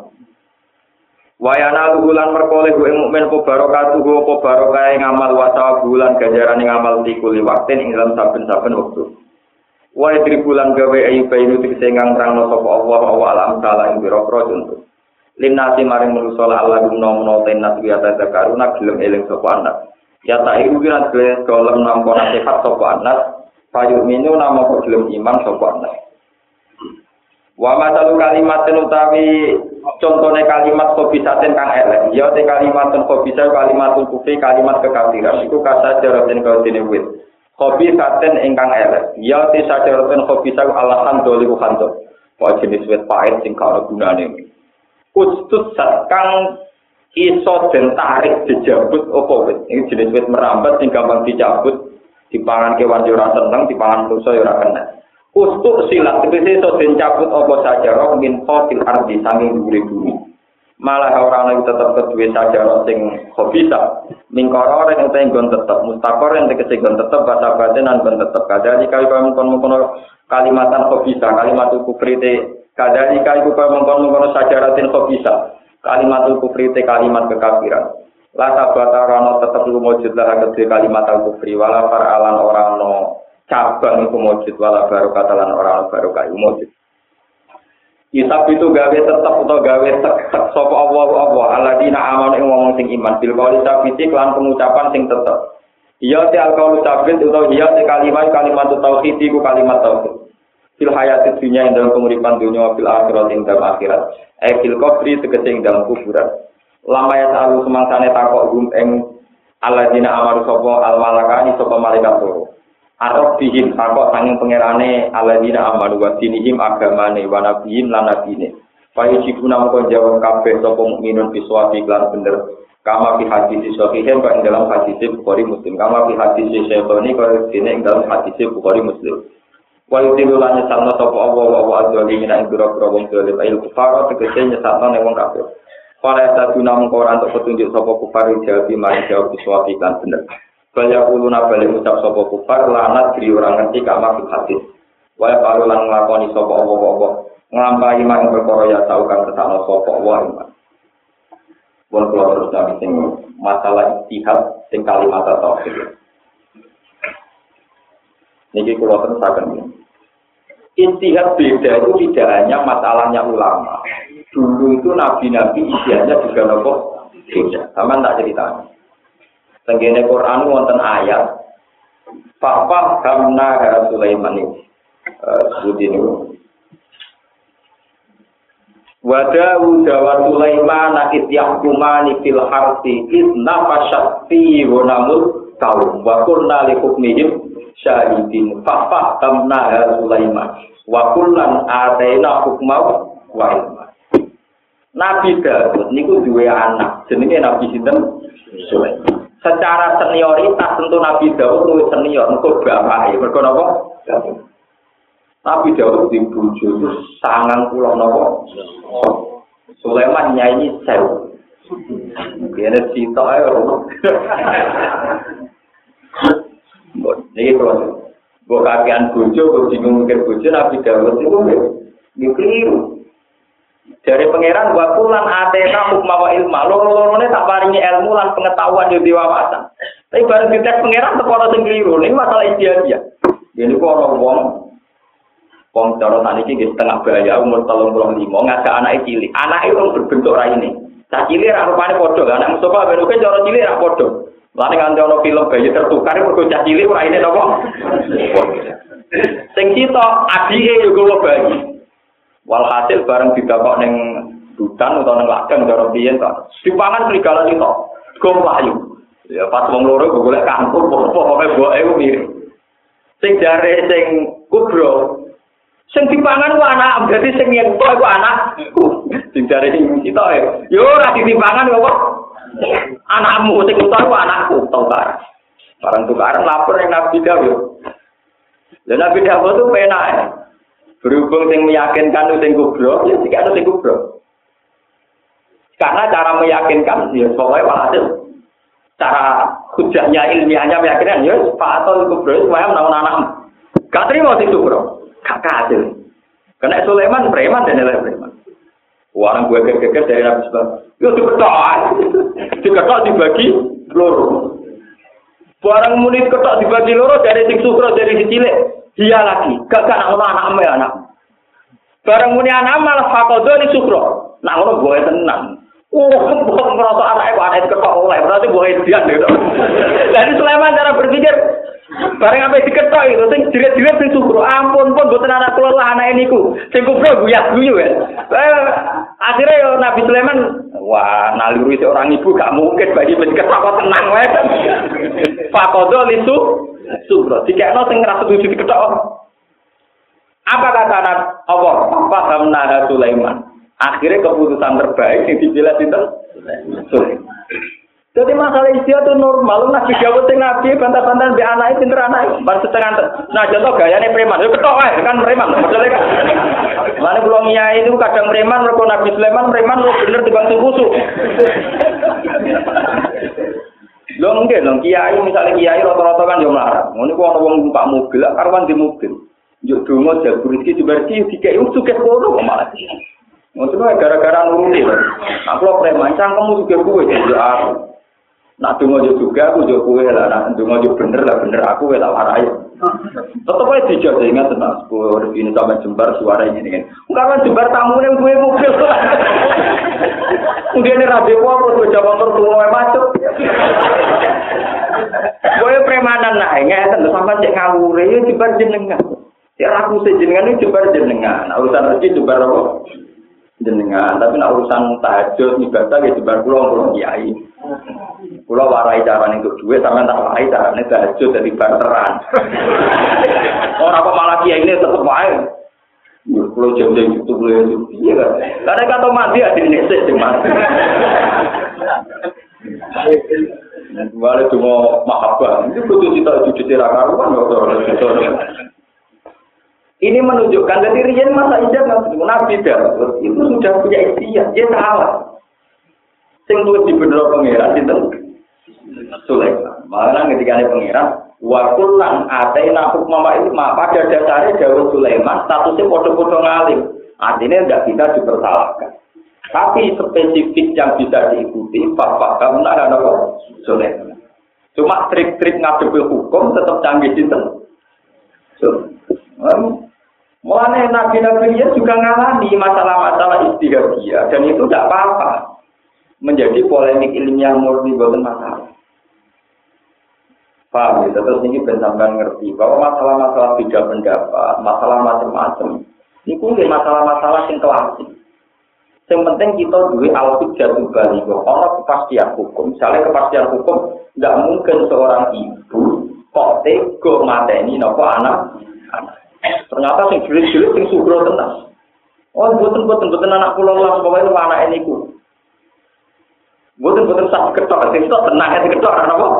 Wayana bulan perkoleh gue mukmin po barokatuh gue po barokah ngamal wasawa bulan ganjaran ngamal tikuli waktin ing dalam saben-saben waktu. Wae tri bulan gawe ayu bayu tik sengang rangno sapa Allah wa alam taala ing biro-biro contoh. Linnasi maring manusa Allah gumno tenas biasa karuna gelem eling sapa anak. Ya tak iku kira gelem nampa nasihat sapa anak, payu minu nama gelem iman sapa anak. Wa masalu kalimatin utawi contohnya kalimat kobisaten kang elek ya te kalimatun kobisa kalimatun kufri kalimat kekafiran iku kasajaraten kaudene wit kobisaten ingkang elek ya te sajaraten kobisa alahan doliku kanto wa jenis wit pahit sing karo gunane ustut kang iso den tarik dijabut apa wit iki jenis wit merambat sing gampang dicabut dipangan kewan yo ora seneng dipangan manusa yo ora kena Ustuk silat, tegese iso den cabut apa sajarah min qatil ardi sanging dhuwure bumi. Malah ora ana tetep keduwe sajarah sing khabisa. Mingkara ora enten nggon tetep, mustaqor enten tegese nggon tetep basa batin lan nggon tetep. Kadali kali mengkon-mengkon kalimatan khabisa, kalimatul kufri te kadali kali mengkon-mengkon sajaratin khabisa. Kalimatul kufri te kalimat kekafiran. La tabata ora tetep lumujud lah kedhe kalimat al-kufri wala faralan ora ana cabang itu mujud wala barokah lan orang barokah itu mujud. Isab itu gawe tetep atau gawe tek-tek sapa Allah Allah alladzina amanu ing wong sing iman bil qauli sabiti lan pengucapan sing tetep. Iya te alqaulu sabit utawa iya te kalimat kalimat tauhid iku kalimat tauhid. Fil hayati dunya ing dalam penguripan dunya fil akhirat ing dalam akhirat. Eh fil qabri tegese ing dalam kuburan. Lama ya salu semangsane takok gum ing alladzina amanu sapa al malakani sapa malaikat loro. Arab bihim takok sanging pangerane aladina amanu wa dinihim agamane wa nabiyyin lan nabine. Payu jibuna mongko jawab kabeh sapa mukminun biswafi lan bener. Kama fi hadis sahihin kok ing dalam hadis Bukhari Muslim. Kama fi hadis Syaitani kok dene ing dalam hadis Bukhari Muslim. Wa yutilu lan nyesatno sapa Allah wa azwali min ing biro-biro wong zalim il kufar tegese nyesatno ning wong kafir. Para saduna mongko ora entuk petunjuk sapa kufar jawab mari jawab biswafi lan bener. Kaya kuluna balik ucap sopo kufar lanat diri orang ngerti kama fil hadis. Waya paru lan nglakoni sopo apa-apa nglampahi mak perkara ya tau kang kesana sopo wa iman. Wong kula terus nami sing masalah ijtihad sing kalimat tauhid. Niki kula terusaken. Ijtihad beda itu tidak hanya masalahnya ulama. Dulu itu nabi-nabi ijtihadnya juga nopo beda. Sama tak ceritanya. Tenggene Quran wonten ayat Papa Hamna Sulaiman ini. Seperti ini. Wadawu dawa Sulaiman nakit yahkumani fil harsi idna fasyati wanamut kaum wa kurna li hukmihim syahidin Papa Hamna Sulaiman wa kullan ataina hukmaw wa ilma. Nabi Daud niku duwe anak jenenge Nabi sinten Sulaiman. Secara senioritas tentu Nabi Daud luwih senior mergo bapake mergo napa? Nabi Daud di bojo itu sangang pulau napa? Sulaiman nyanyi sewu. Kene cita ae. Niki kalau mbok kakean bojo kok bingung mikir bojo Nabi Daud itu nggih keliru. Dari pangeran wa kulan atena hukma wa ilma. Loro-lorone tak paringi ilmu lan pengetahuan yo diwawasan. Tapi bareng dites pangeran teko ana sing keliru. Ini masalah istiadia. Jadi kok ana wong wong cara tadi iki setengah bahaya umur tiga puluh lima ngajak anake cilik. Anake wong berbentuk raine. Cah cilik ra rupane padha. Anak Mustafa ben oke cara cilik ra padha. Lane nganti ana film bayi tertukar mergo cah cilik raine napa? Sing sitok adike yo kula bayi. Walhasil bareng didakok ning hutan utawa ning ladang cara piye to. Dipangan serigala itu. Gom layu. Ya pas wong loro golek kangkung pokoke boke ku mirip. Sing jare sing kubro sing dipangan ku anak, berarti sing yen kok iku anakku. Sing jare sing sitok e. Yo ora ditimpangan kok. Anakmu sing utar ku anakku, tukar. Barang tukaran lapor ning Nabi Dawud. Lah Nabi Dawud tuh penak e. Berhubung sing meyakinkan sing kubro, ya sik ana sing kubro. Karena cara meyakinkan ya pokoknya walhasil cara hujahnya ilmiahnya meyakinkan ya Pak Atul kubro supaya menawan anak. Gak terima sing kubro. Gak hasil. Karena Sulaiman preman dan lain preman. Orang gue geger dari Nabi Sulaiman. Yo diketok. Diketok dibagi loro. Barang muni ketok dibagi loro dari sing sukro dari si cilik. Dia lagi, gak gak nak ngono anak ya anak. Bareng muni anak malah fakodo ni sukro. Nak ngono boe tenan. Oh, kok ngerasa anake kok anake ketok oleh, berarti boe dia gitu. Jadi Sulaiman cara berpikir bareng apa diketok itu sing jiret-jiret sing sukro. Ampun pun mboten anak kula lah anake niku. Sing kubro guyah guyu ya. Eh, akhirnya yo Nabi Sulaiman wah, naluri seorang ibu gak mungkin bagi diketok kok tenang wae. Fakodo lisu sukro, jika no sing ngerasa tujuh diketok. Apa kata Allah? Paham Nabi Sulaiman. Akhirnya keputusan terbaik yang dipilih itu Sulaiman. Jadi masalah istilah itu normal. Nabi Dawud sing nabi bantah-bantahan be anake pinter anake. Bar setengah. Nah contoh gayane preman. Yo ketok wae kan preman. Modele kan. Lane kula ngiyai itu kadang preman mergo Nabi Sulaiman preman lu bener dibang kusuk. Lho nggih lho kiai misalnya kiai rata-rata kan yo mlarang. Ngono ku ana wong numpak mobil, karuan di mobil. Yo donga jabur iki diberki dikek sugih kono kok malah. Ngono gara-gara nuruti lho. Aku lho preman cangkemmu sugih kowe yo aku. Nak donga yo juga aku yo kowe lah, nak donga yo bener lah bener aku lah warai. Tetep ae dijak ingat tenan sepuluh ini sampai jembar suara ini kan. Karena jembar tamu yang gue mobil. Kemudian rabi apa gue jawab tertua macet. Gue premanan nah, ngeten sampai cek ngawur ya jembar jenengan. Ya aku sejenengan itu jembar jenengan. Urusan rezeki jembar apa? Jenengan, tapi nak urusan tahajud ibadah ya jembar kula kula kiai. Kula warai carane untuk duit sampean tak warai carane tahajud dadi barteran. Ora kok malah kiai ini tetep wae. Yo kula jam-jam YouTube lho iya kan. Karena kata mati ade nesek sing mati. Wale cuma mahabbah. Itu kudu cita cuci ra karuan kok. Ini menunjukkan dari riyen masa ijab Nabi Daud itu sudah punya ikhtiar, dia salah. Sing tuwes dibendera pangeran sinten? Sulaiman. Malah ketika ada pangeran, wa kullan ataina hukma wa ilma, pada dasarnya Daud Sulaiman statusnya padha-padha ngalim. Artinya tidak bisa dipersalahkan. Tapi spesifik yang bisa diikuti, Bapak kamu ada apa? Sulaiman. Cuma trik-trik ngadepi hukum tetap canggih sinten? Sulaiman. Mulanya nabi-nabi dia juga ngalami masalah-masalah istihadiyah dan itu tidak apa-apa menjadi polemik ilmiah murni bukan masalah. Paham ya? Terus ini benar-benar ngerti bahwa masalah-masalah beda pendapat, masalah macam-macam. Ini kuwi masalah-masalah yang klasik. Yang penting kita duwe al-hujjatul baligha, ana kepastian hukum. Misalnya kepastian hukum, tidak mungkin seorang ibu kok tega mateni napa anak. Ternyata sing jelas-jelas sing sugro tenan. Oh, mboten-mboten mboten anak kula lah, pokoke anake niku. Mboten-mboten sak ketok, sing tok tenang sing ketok ana napa?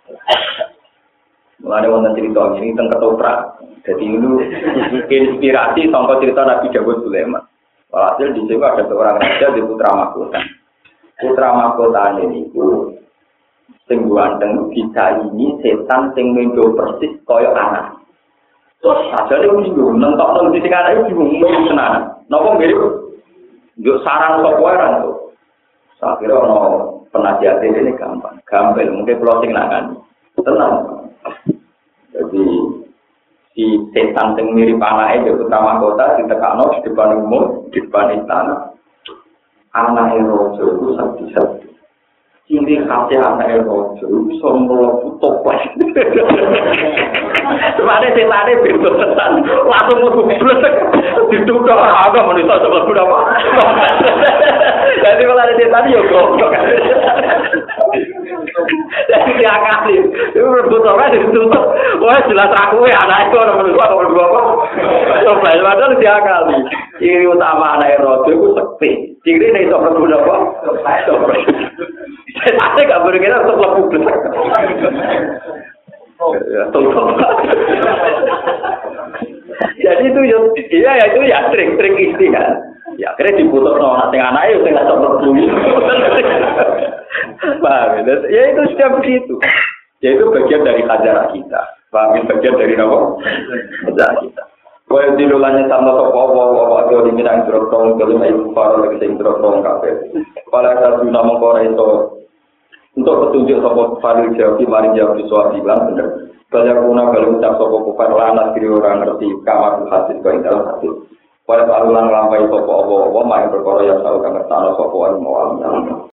Mulane wonten cerita ini teng ketoprak. Jadi itu inspirasi sangka cerita Nabi Dawud Sulaiman. Walhasil di situ ada seorang raja di putra mahkota. Putra mahkota ini itu sing ganteng bisa ini setan sing mendo persis kaya anak. Terus saja dia bingung, nentok nang di sekarang itu bingung tenan. Napa mirip yo sarang sapa ora to. Sakira ono penasihat ini gampang. Gampang mungkin closing nangan. Tenang. Jadi si setan sing mirip anake di putra mahkota ditekakno di depan umum, di depan istana. Anake rojo itu sakti-sakti. Ciri khasnya anake rojo itu sombong toples. Semane setane beda tenan. Langsung mlebu blek dituthuk agak manusa sebab apa. Jadi kalau ada setan yo goblok. Jadi dia kali, itu berbutuhkan ditutup. Wah jelas aku ya anak itu orang manusia orang berdua apa? Coba padahal dia kali. Ciri utama anak rojo itu sekti. Ciri ini itu berguna apa? Saya nggak berkira untuk lebih besar. Ya, tutup. Jadi itu ya, ya itu ya trik-trik isti kan. Ya akhirnya diputus sama anak anak itu nggak sempat berbunyi. Paham ya? Ya itu sudah begitu. Ya itu bagian dari ajaran kita. Paham ya? Bagian dari apa? Ajaran kita. Kau yang dilulanya sama sopo-sopo, wawadio diminang jerotong, kelima ibu faro lagi sing jerotong kafe. Kalau ada guna mengkora itu untuk petunjuk sopo faril jawab, mari jawab di soal bilang benar. Banyak guna kalau ucap sopo kufar lana diri orang ngerti kamar hasil kau dalam hasil. Pada alulan lampai sopo obo obo main berkoro yang selalu kamar tanah sopo an mau